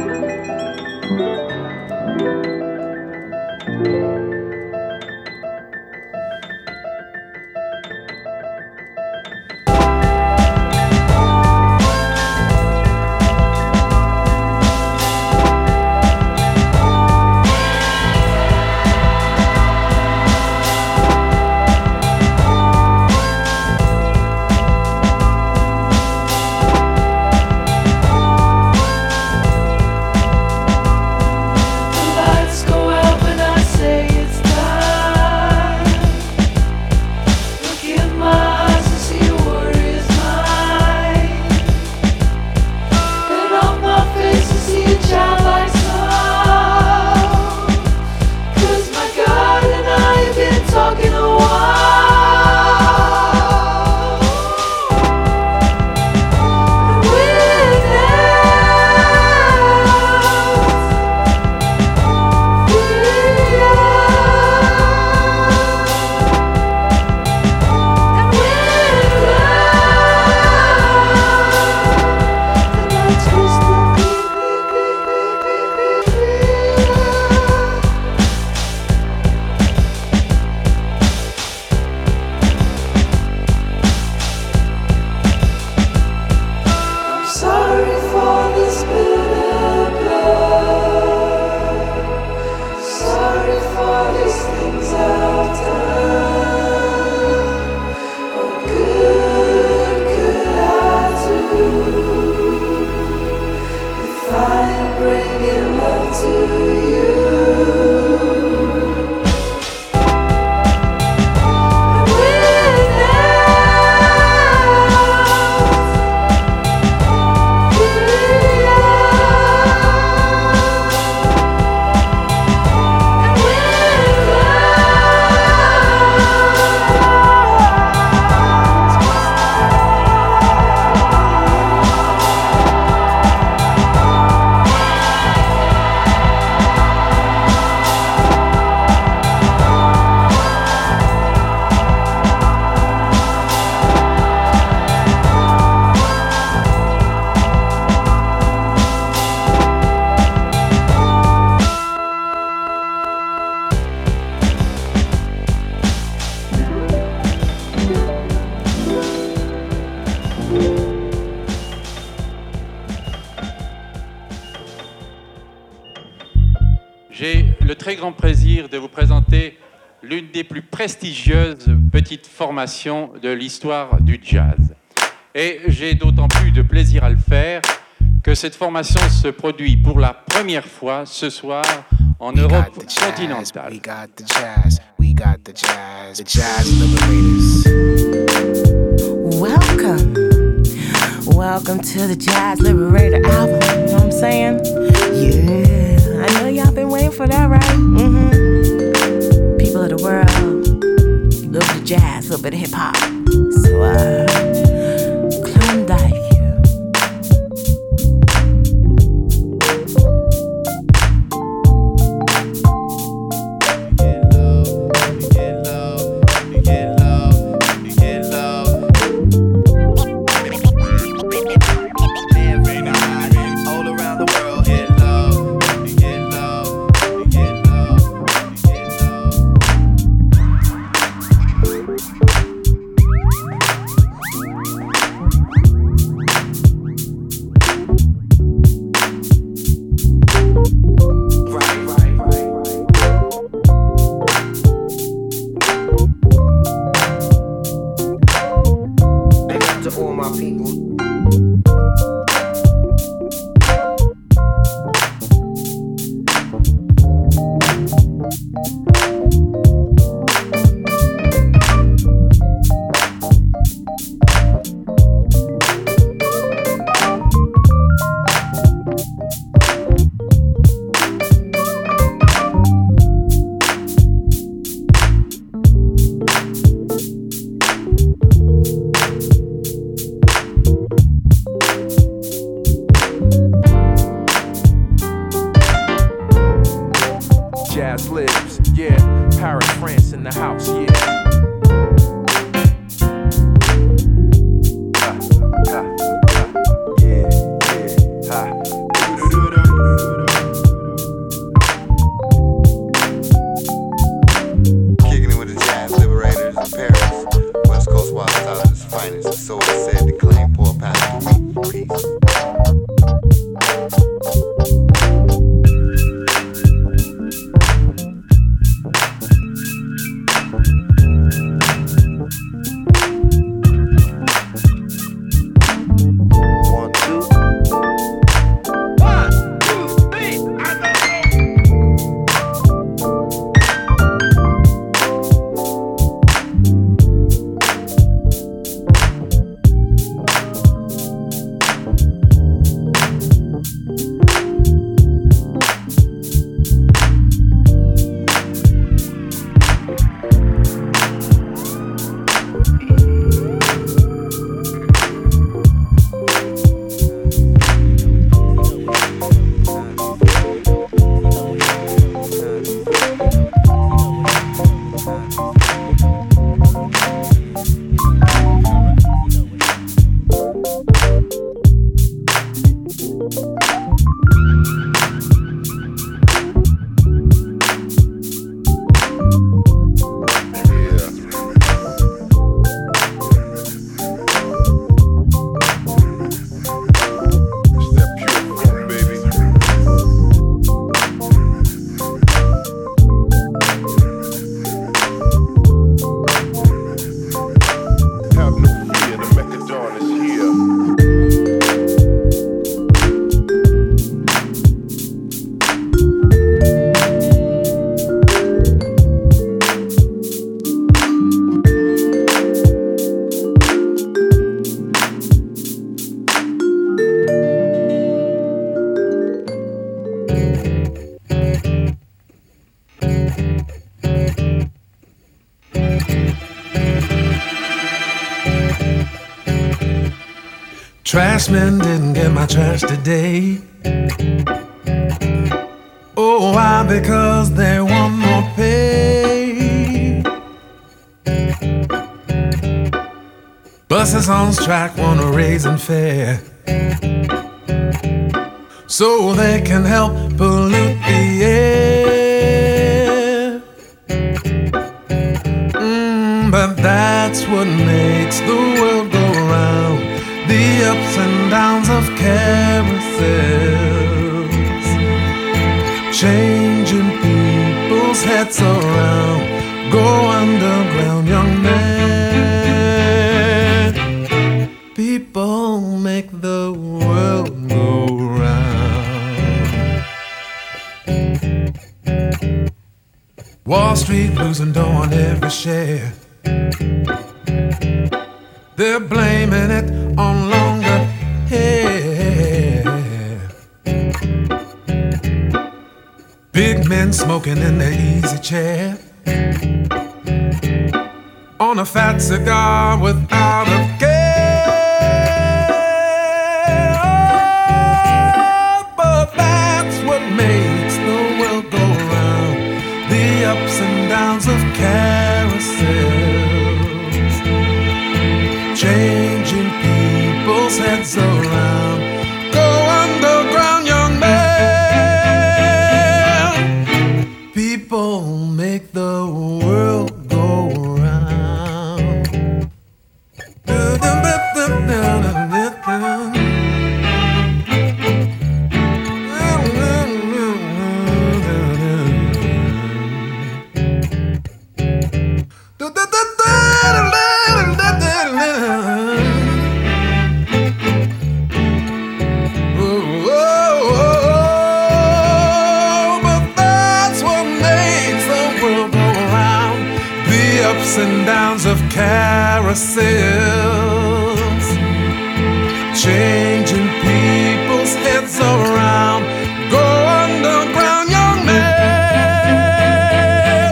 J'ai le très grand plaisir de vous présenter l'une des plus prestigieuses petites formations de l'histoire du jazz. Et j'ai d'autant plus de plaisir à le faire que cette formation se produit pour la première fois ce soir en Europe continentale. We got the jazz, we got the jazz, the Jazz Liberators. Welcome to the Jazz Liberator album, you know what I'm saying? Yeah, I know y'all been waiting for that, right? Mm-hmm. People of the world, a little bit of jazz, a little bit of hip-hop. So, Klondike. Jazz lives, yeah. Paris, France in the house, yeah. Trashman didn't get my trash today. Oh, why? Because they want more pay. Buses on strike want a raising fare, so they can help pollute the air. But that's what makes the world go round, the ups and downs of carousels, changing people's heads around. Go underground, young man. People make the world go round. Wall Street losing dough on every share. They're blaming it on longer hair. Big men smoking in their easy chair, on a fat cigar without a care. But that's what makes the world go round, the ups and downs of carousels, changing people's heads around. Go underground, young man. People make the world go round. And downs of carousels, changing people's heads around. Go underground, young man.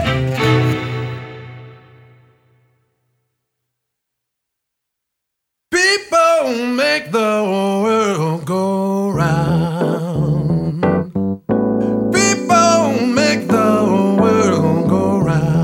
People make the world go round. People make the world go round.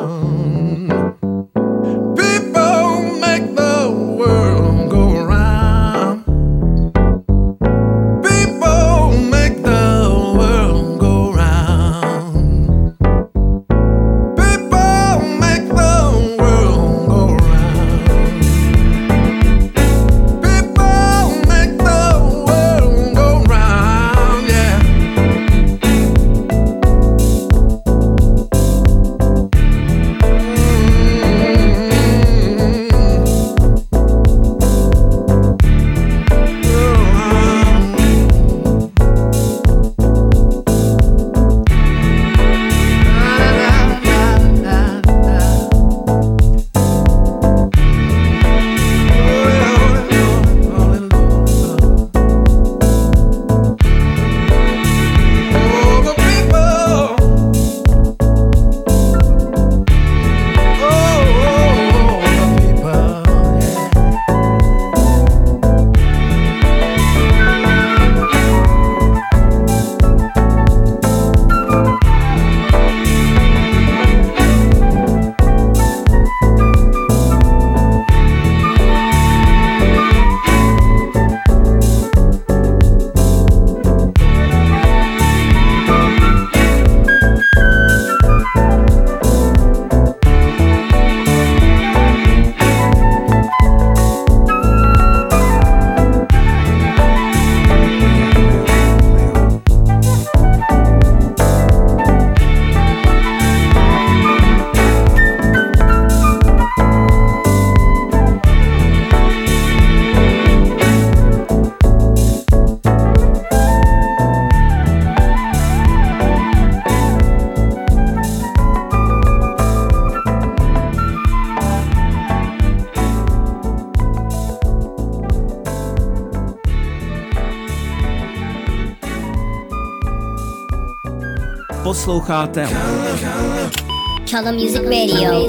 Posloucháte Color Music Radio.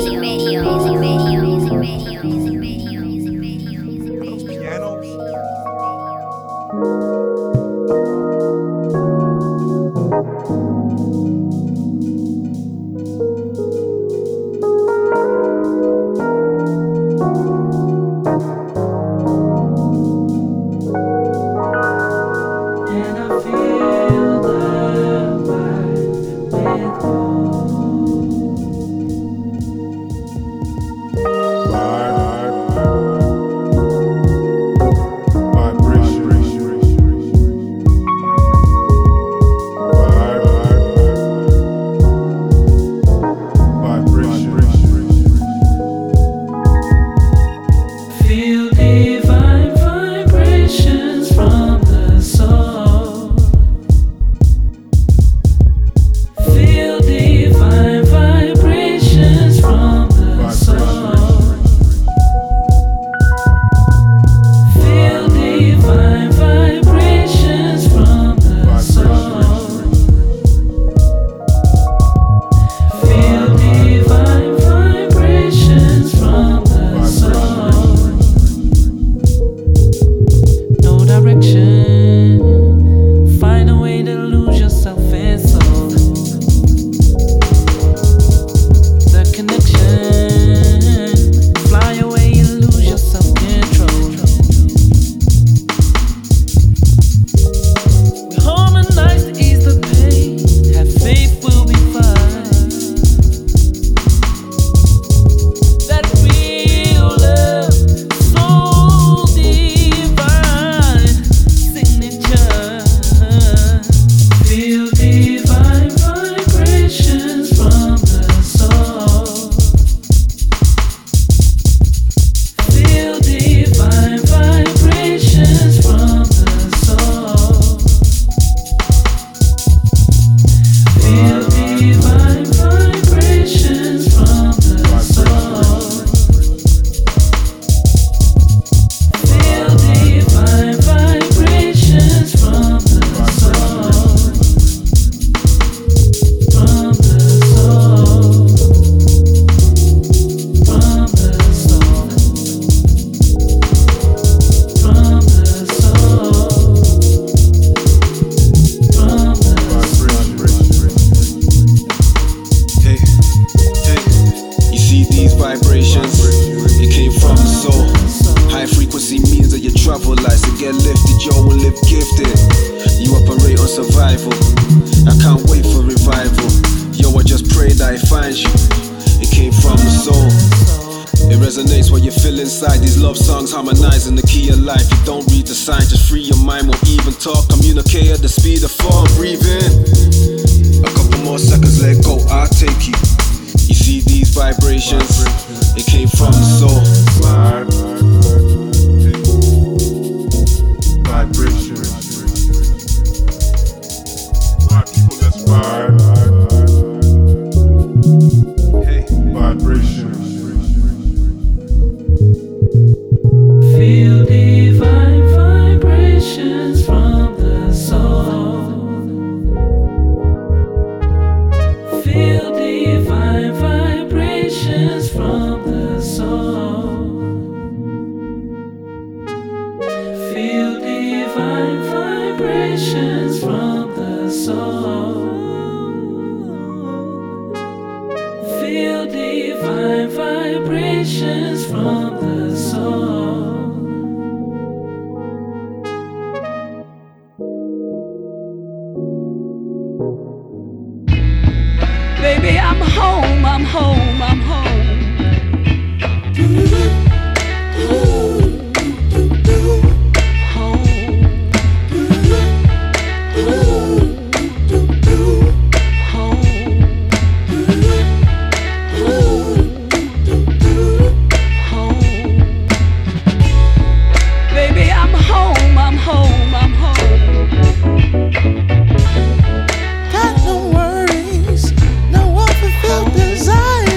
Got no worries, no unfulfilled desires.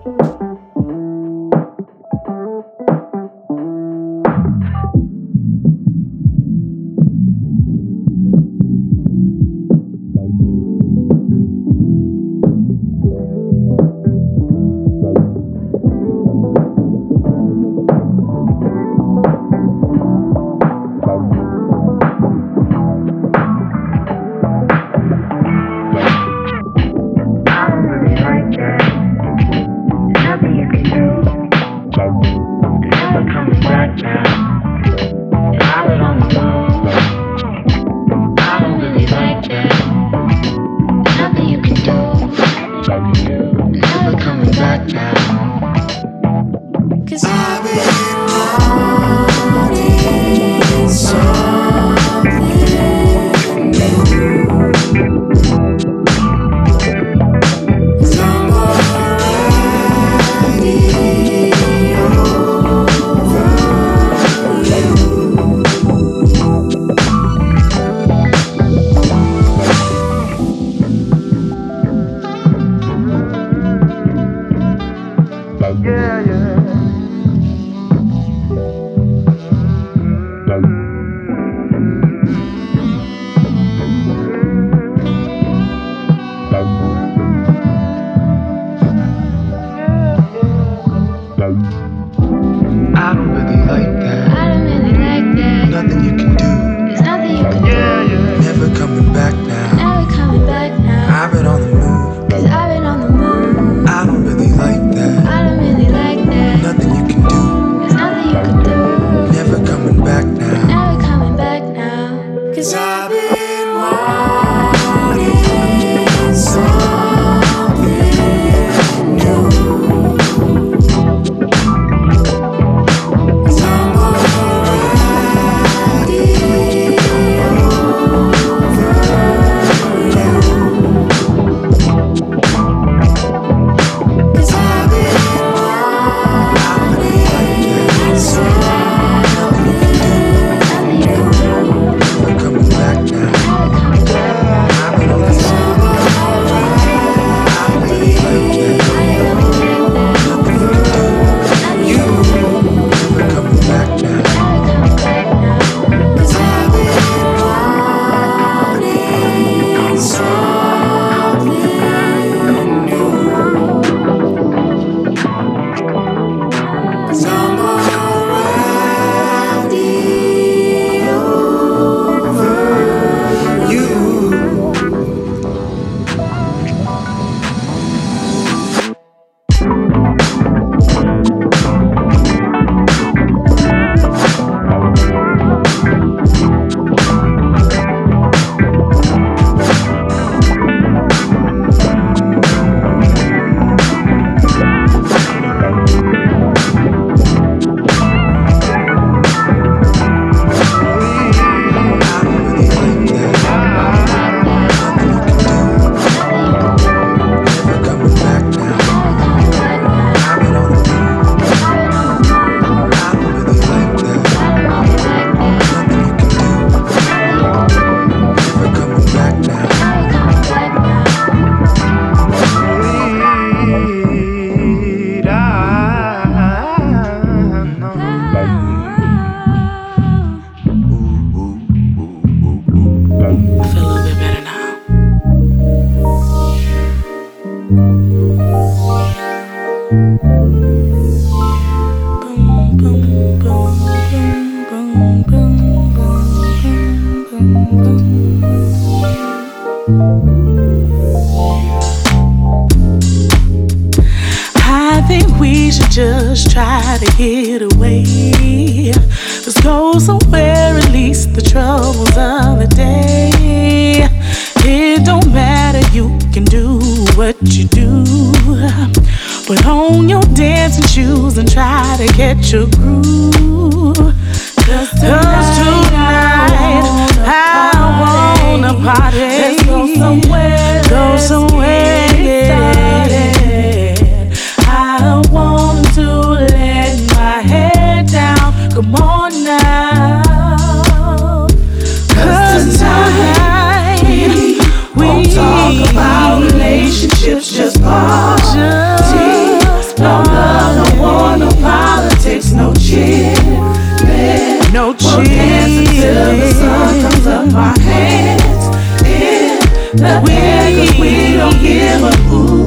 I think we should just try to get away. Let's go somewhere, release the troubles of the day. It don't matter, you can do what you do. Put on your dancing shoes and try to catch a groove. 'Cause tonight I wanna party. Let's go somewhere, yeah. I want to let my head down. Come on now. 'Cause tonight we won't talk about relationships, just party. No love, no war, no politics, no cheerleading. No cheerleading. We'll dance until the sun comes up our hands. In the air, 'cause we don't give a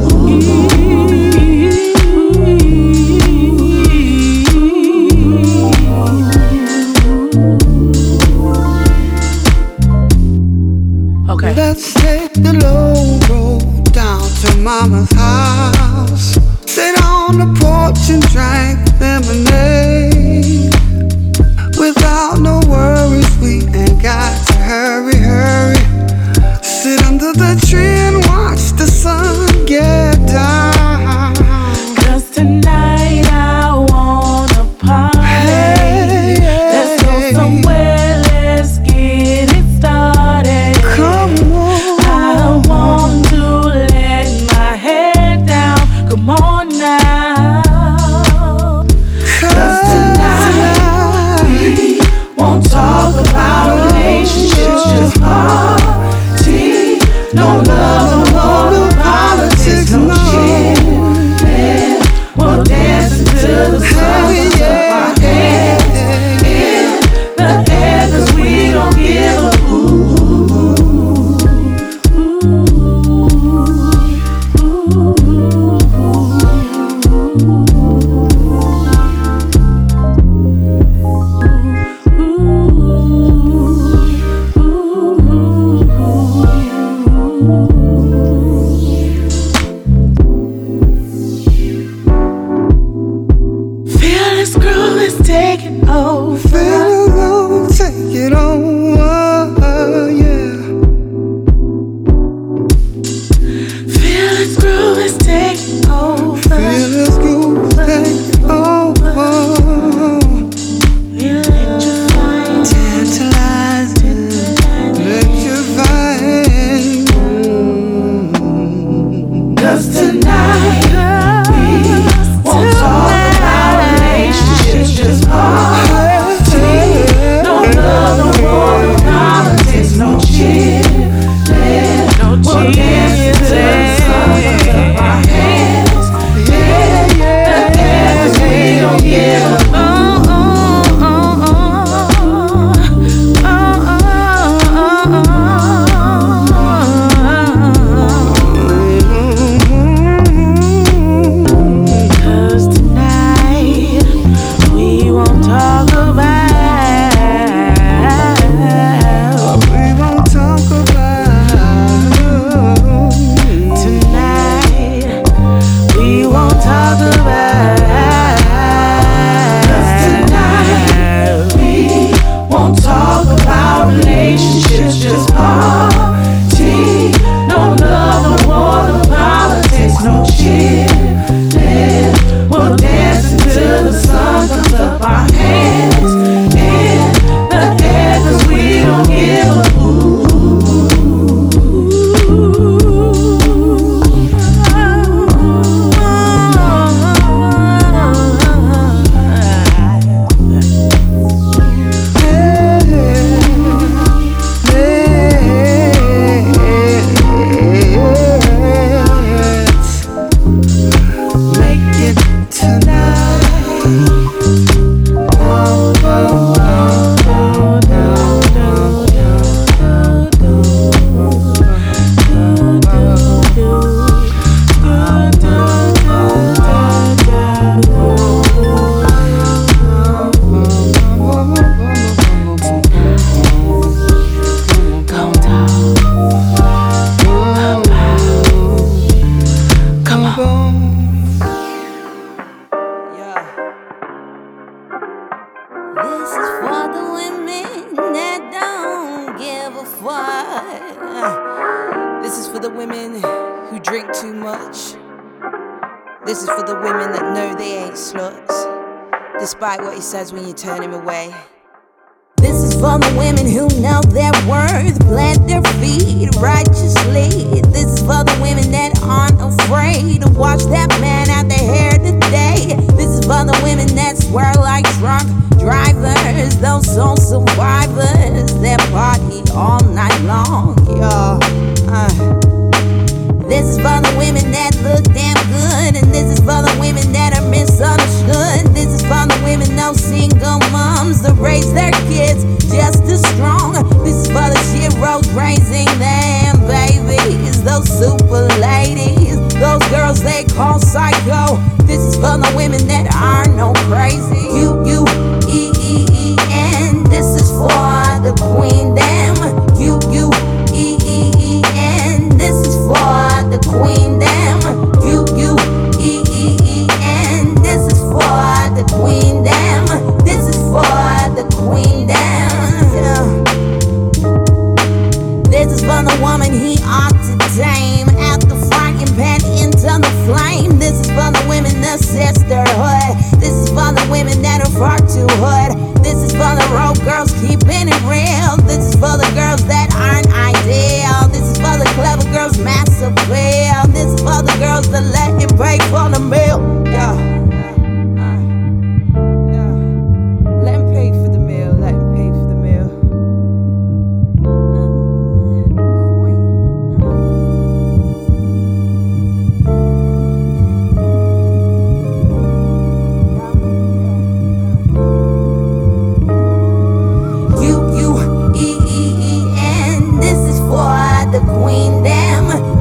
Okay. Let's take the low road down to Mama's house. Sit on the porch and drink lemonade. Without no worries, we ain't got to hurry, hurry. Sit under the tree and watch the sun get down. 'Cause tonight I wanna party. Hey, let's go somewhere, let's get it started. Come on. I want to let my head down. Come on now. 'Cause tonight we won't talk about relationships, just party. No love, no politics, no cheating. We'll dance until the sun comes up our hands. In the air, 'cause we don't give a Feel this groove is taking over. Feel take it over, yeah. Feel this groove is taking over. Feel this groove take over. Electrifying, Tantalizing, electrifying. 'Cause tonight we won't talk about relationships, just party. No love, no war, no politics, no cheerleading. We'll dance until the sun comes up our hands. Yeah, the air, 'cause we don't give a This is for the women who drink too much. This is for the women that know they ain't sluts, despite what he says when you turn him away. This is for the women who know their worth, plant their feet righteously. This is for the women that aren't afraid to wash that man out their hair today. This is for the women that swear like drunk drivers, those soul survivors that party all night long, y'all. This is for the women that look damn good, and this is for the women that no single moms to raise their kids just as strong. This is for the sheroes raising them babies, those super ladies, those girls they call psycho. This is for the women that are no crazy. U-U-E-E-E-N. This is for the queen them. U-U-E-E-E-N. This is for the queen them. U-U-E-E-E-N. This is for the queen them. This is for the queen them. Yeah. This is for the woman he ought to tame. At the frying pan into the flame. This is for the women, the sisterhood. This is for the women that are far too hood. This is for the road girls keeping it real. This is for the girls that aren't ideal. This is for the clever girls, mass appeal. This is for the girls that let him pay for the meal. Yeah. Let him pay for the meal. Let him pay for the meal. U-U-E-E-E-N. This is for the queen them.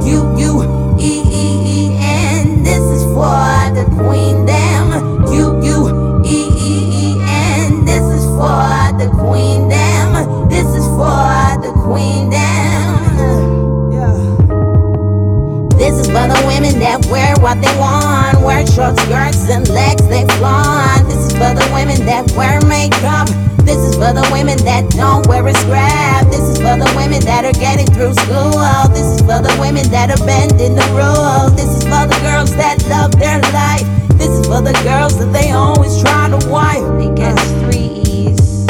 U-U-E-E-E-N. This is for the queen them. U-U-E-E-E-N. This is for the queen them. This is for the queen them. Yeah. This is for the women that wear what they want, wear short skirts and legs they flaunt. This is for the women that wear makeup. This is for the women that don't wear a scrap. This is for the women that are getting through school. This is for the women that are bending the rules. This is for the girls that love their life. This is for the girls that they always try to wife. It gets 3 E's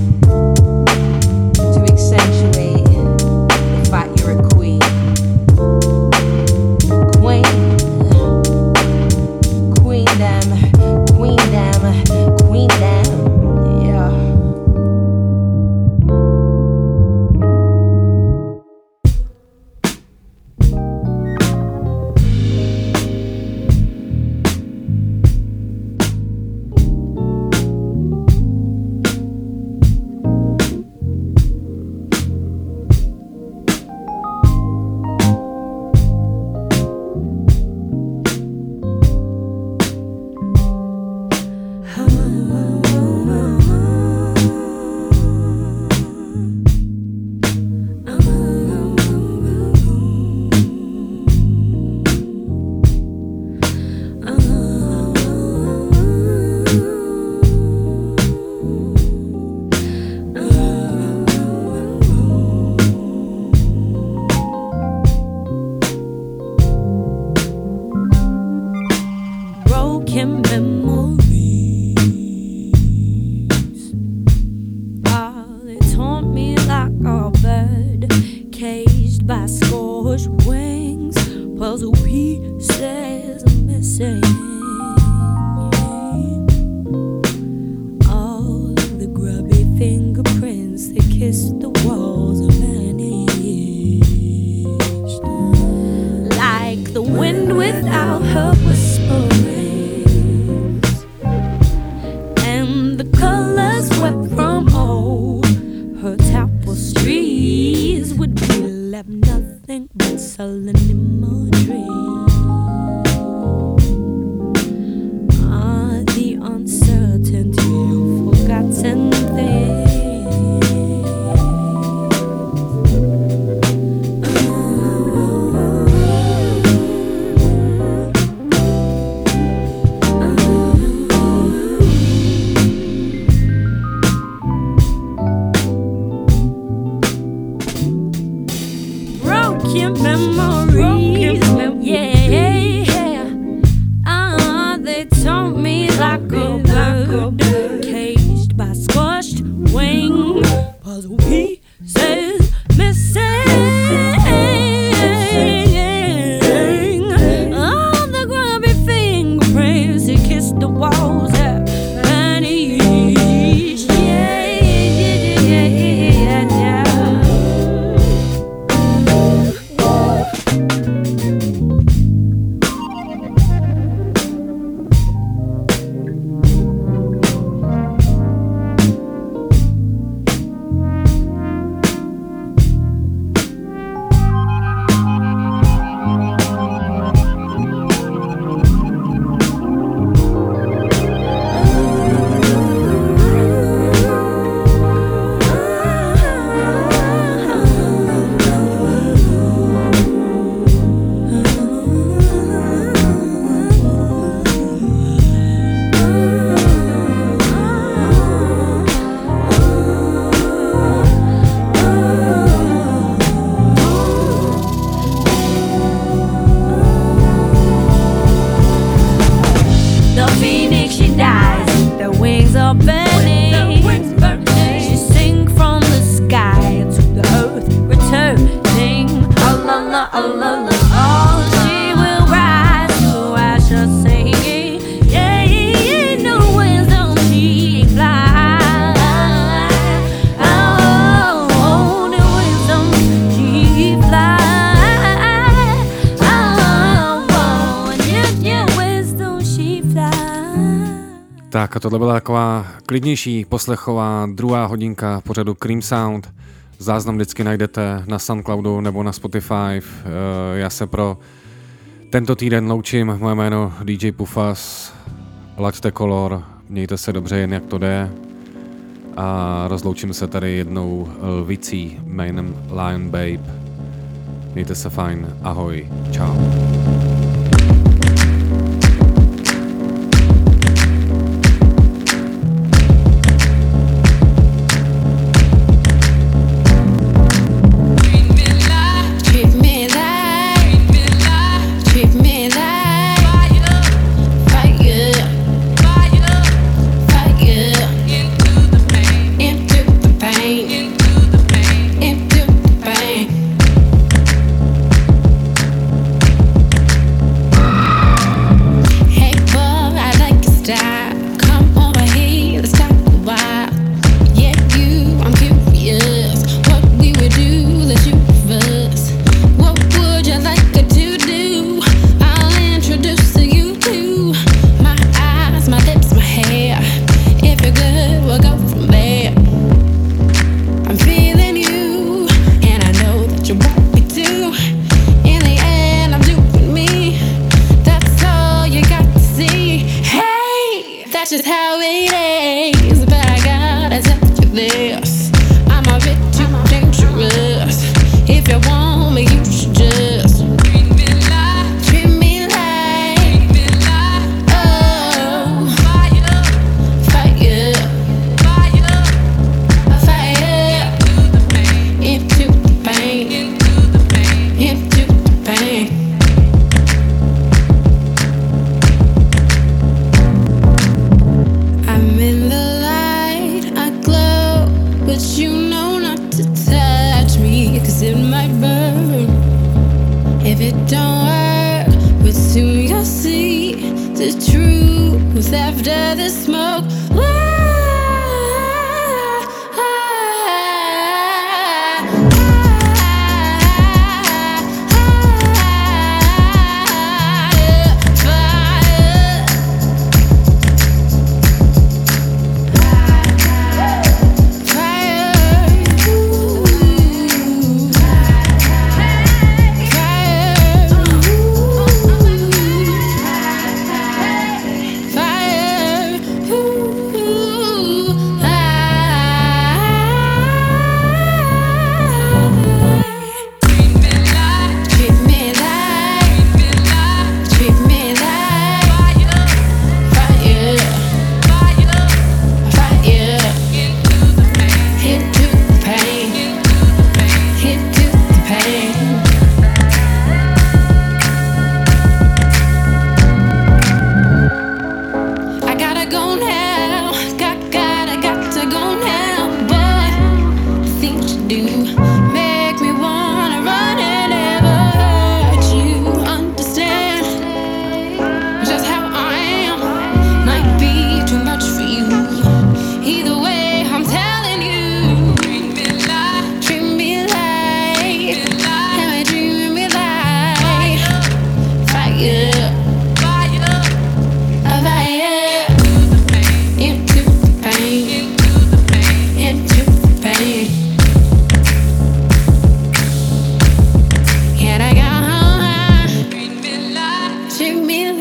to accentuate the fact you're a queen. Queen. Queen them. Queen them. Queen them. Yeah. Broken memories. They taunt me like a bird caged by scorched wings. Puzzle pieces are missing. All the grubby fingerprints that kissed the walls are vanished. Like the wind without her whisperings, and the colors swept from all her tapestries would be left nothing but sullen imagery. The uncertainty of forgotten things. Broken memories, yeah. They taunt me like a bird caged by squashed wings. Puzzle pieces missing. All the grubby fingerprints that kissed the walls have vanished. Tak a tohle byla taková klidnější poslechová druhá hodinka pořadu Cream Sound. Záznam vždycky najdete na Soundcloudu nebo na Spotify. Já se pro tento týden loučím, moje jméno DJ Pufas, laďte kolor, mějte se dobře jen jak to jde a rozloučím se tady jednou lvicí jménem Lion Babe. Mějte se fajn, ahoj, čau. After the smoke,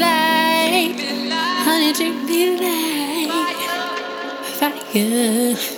treat me like fire.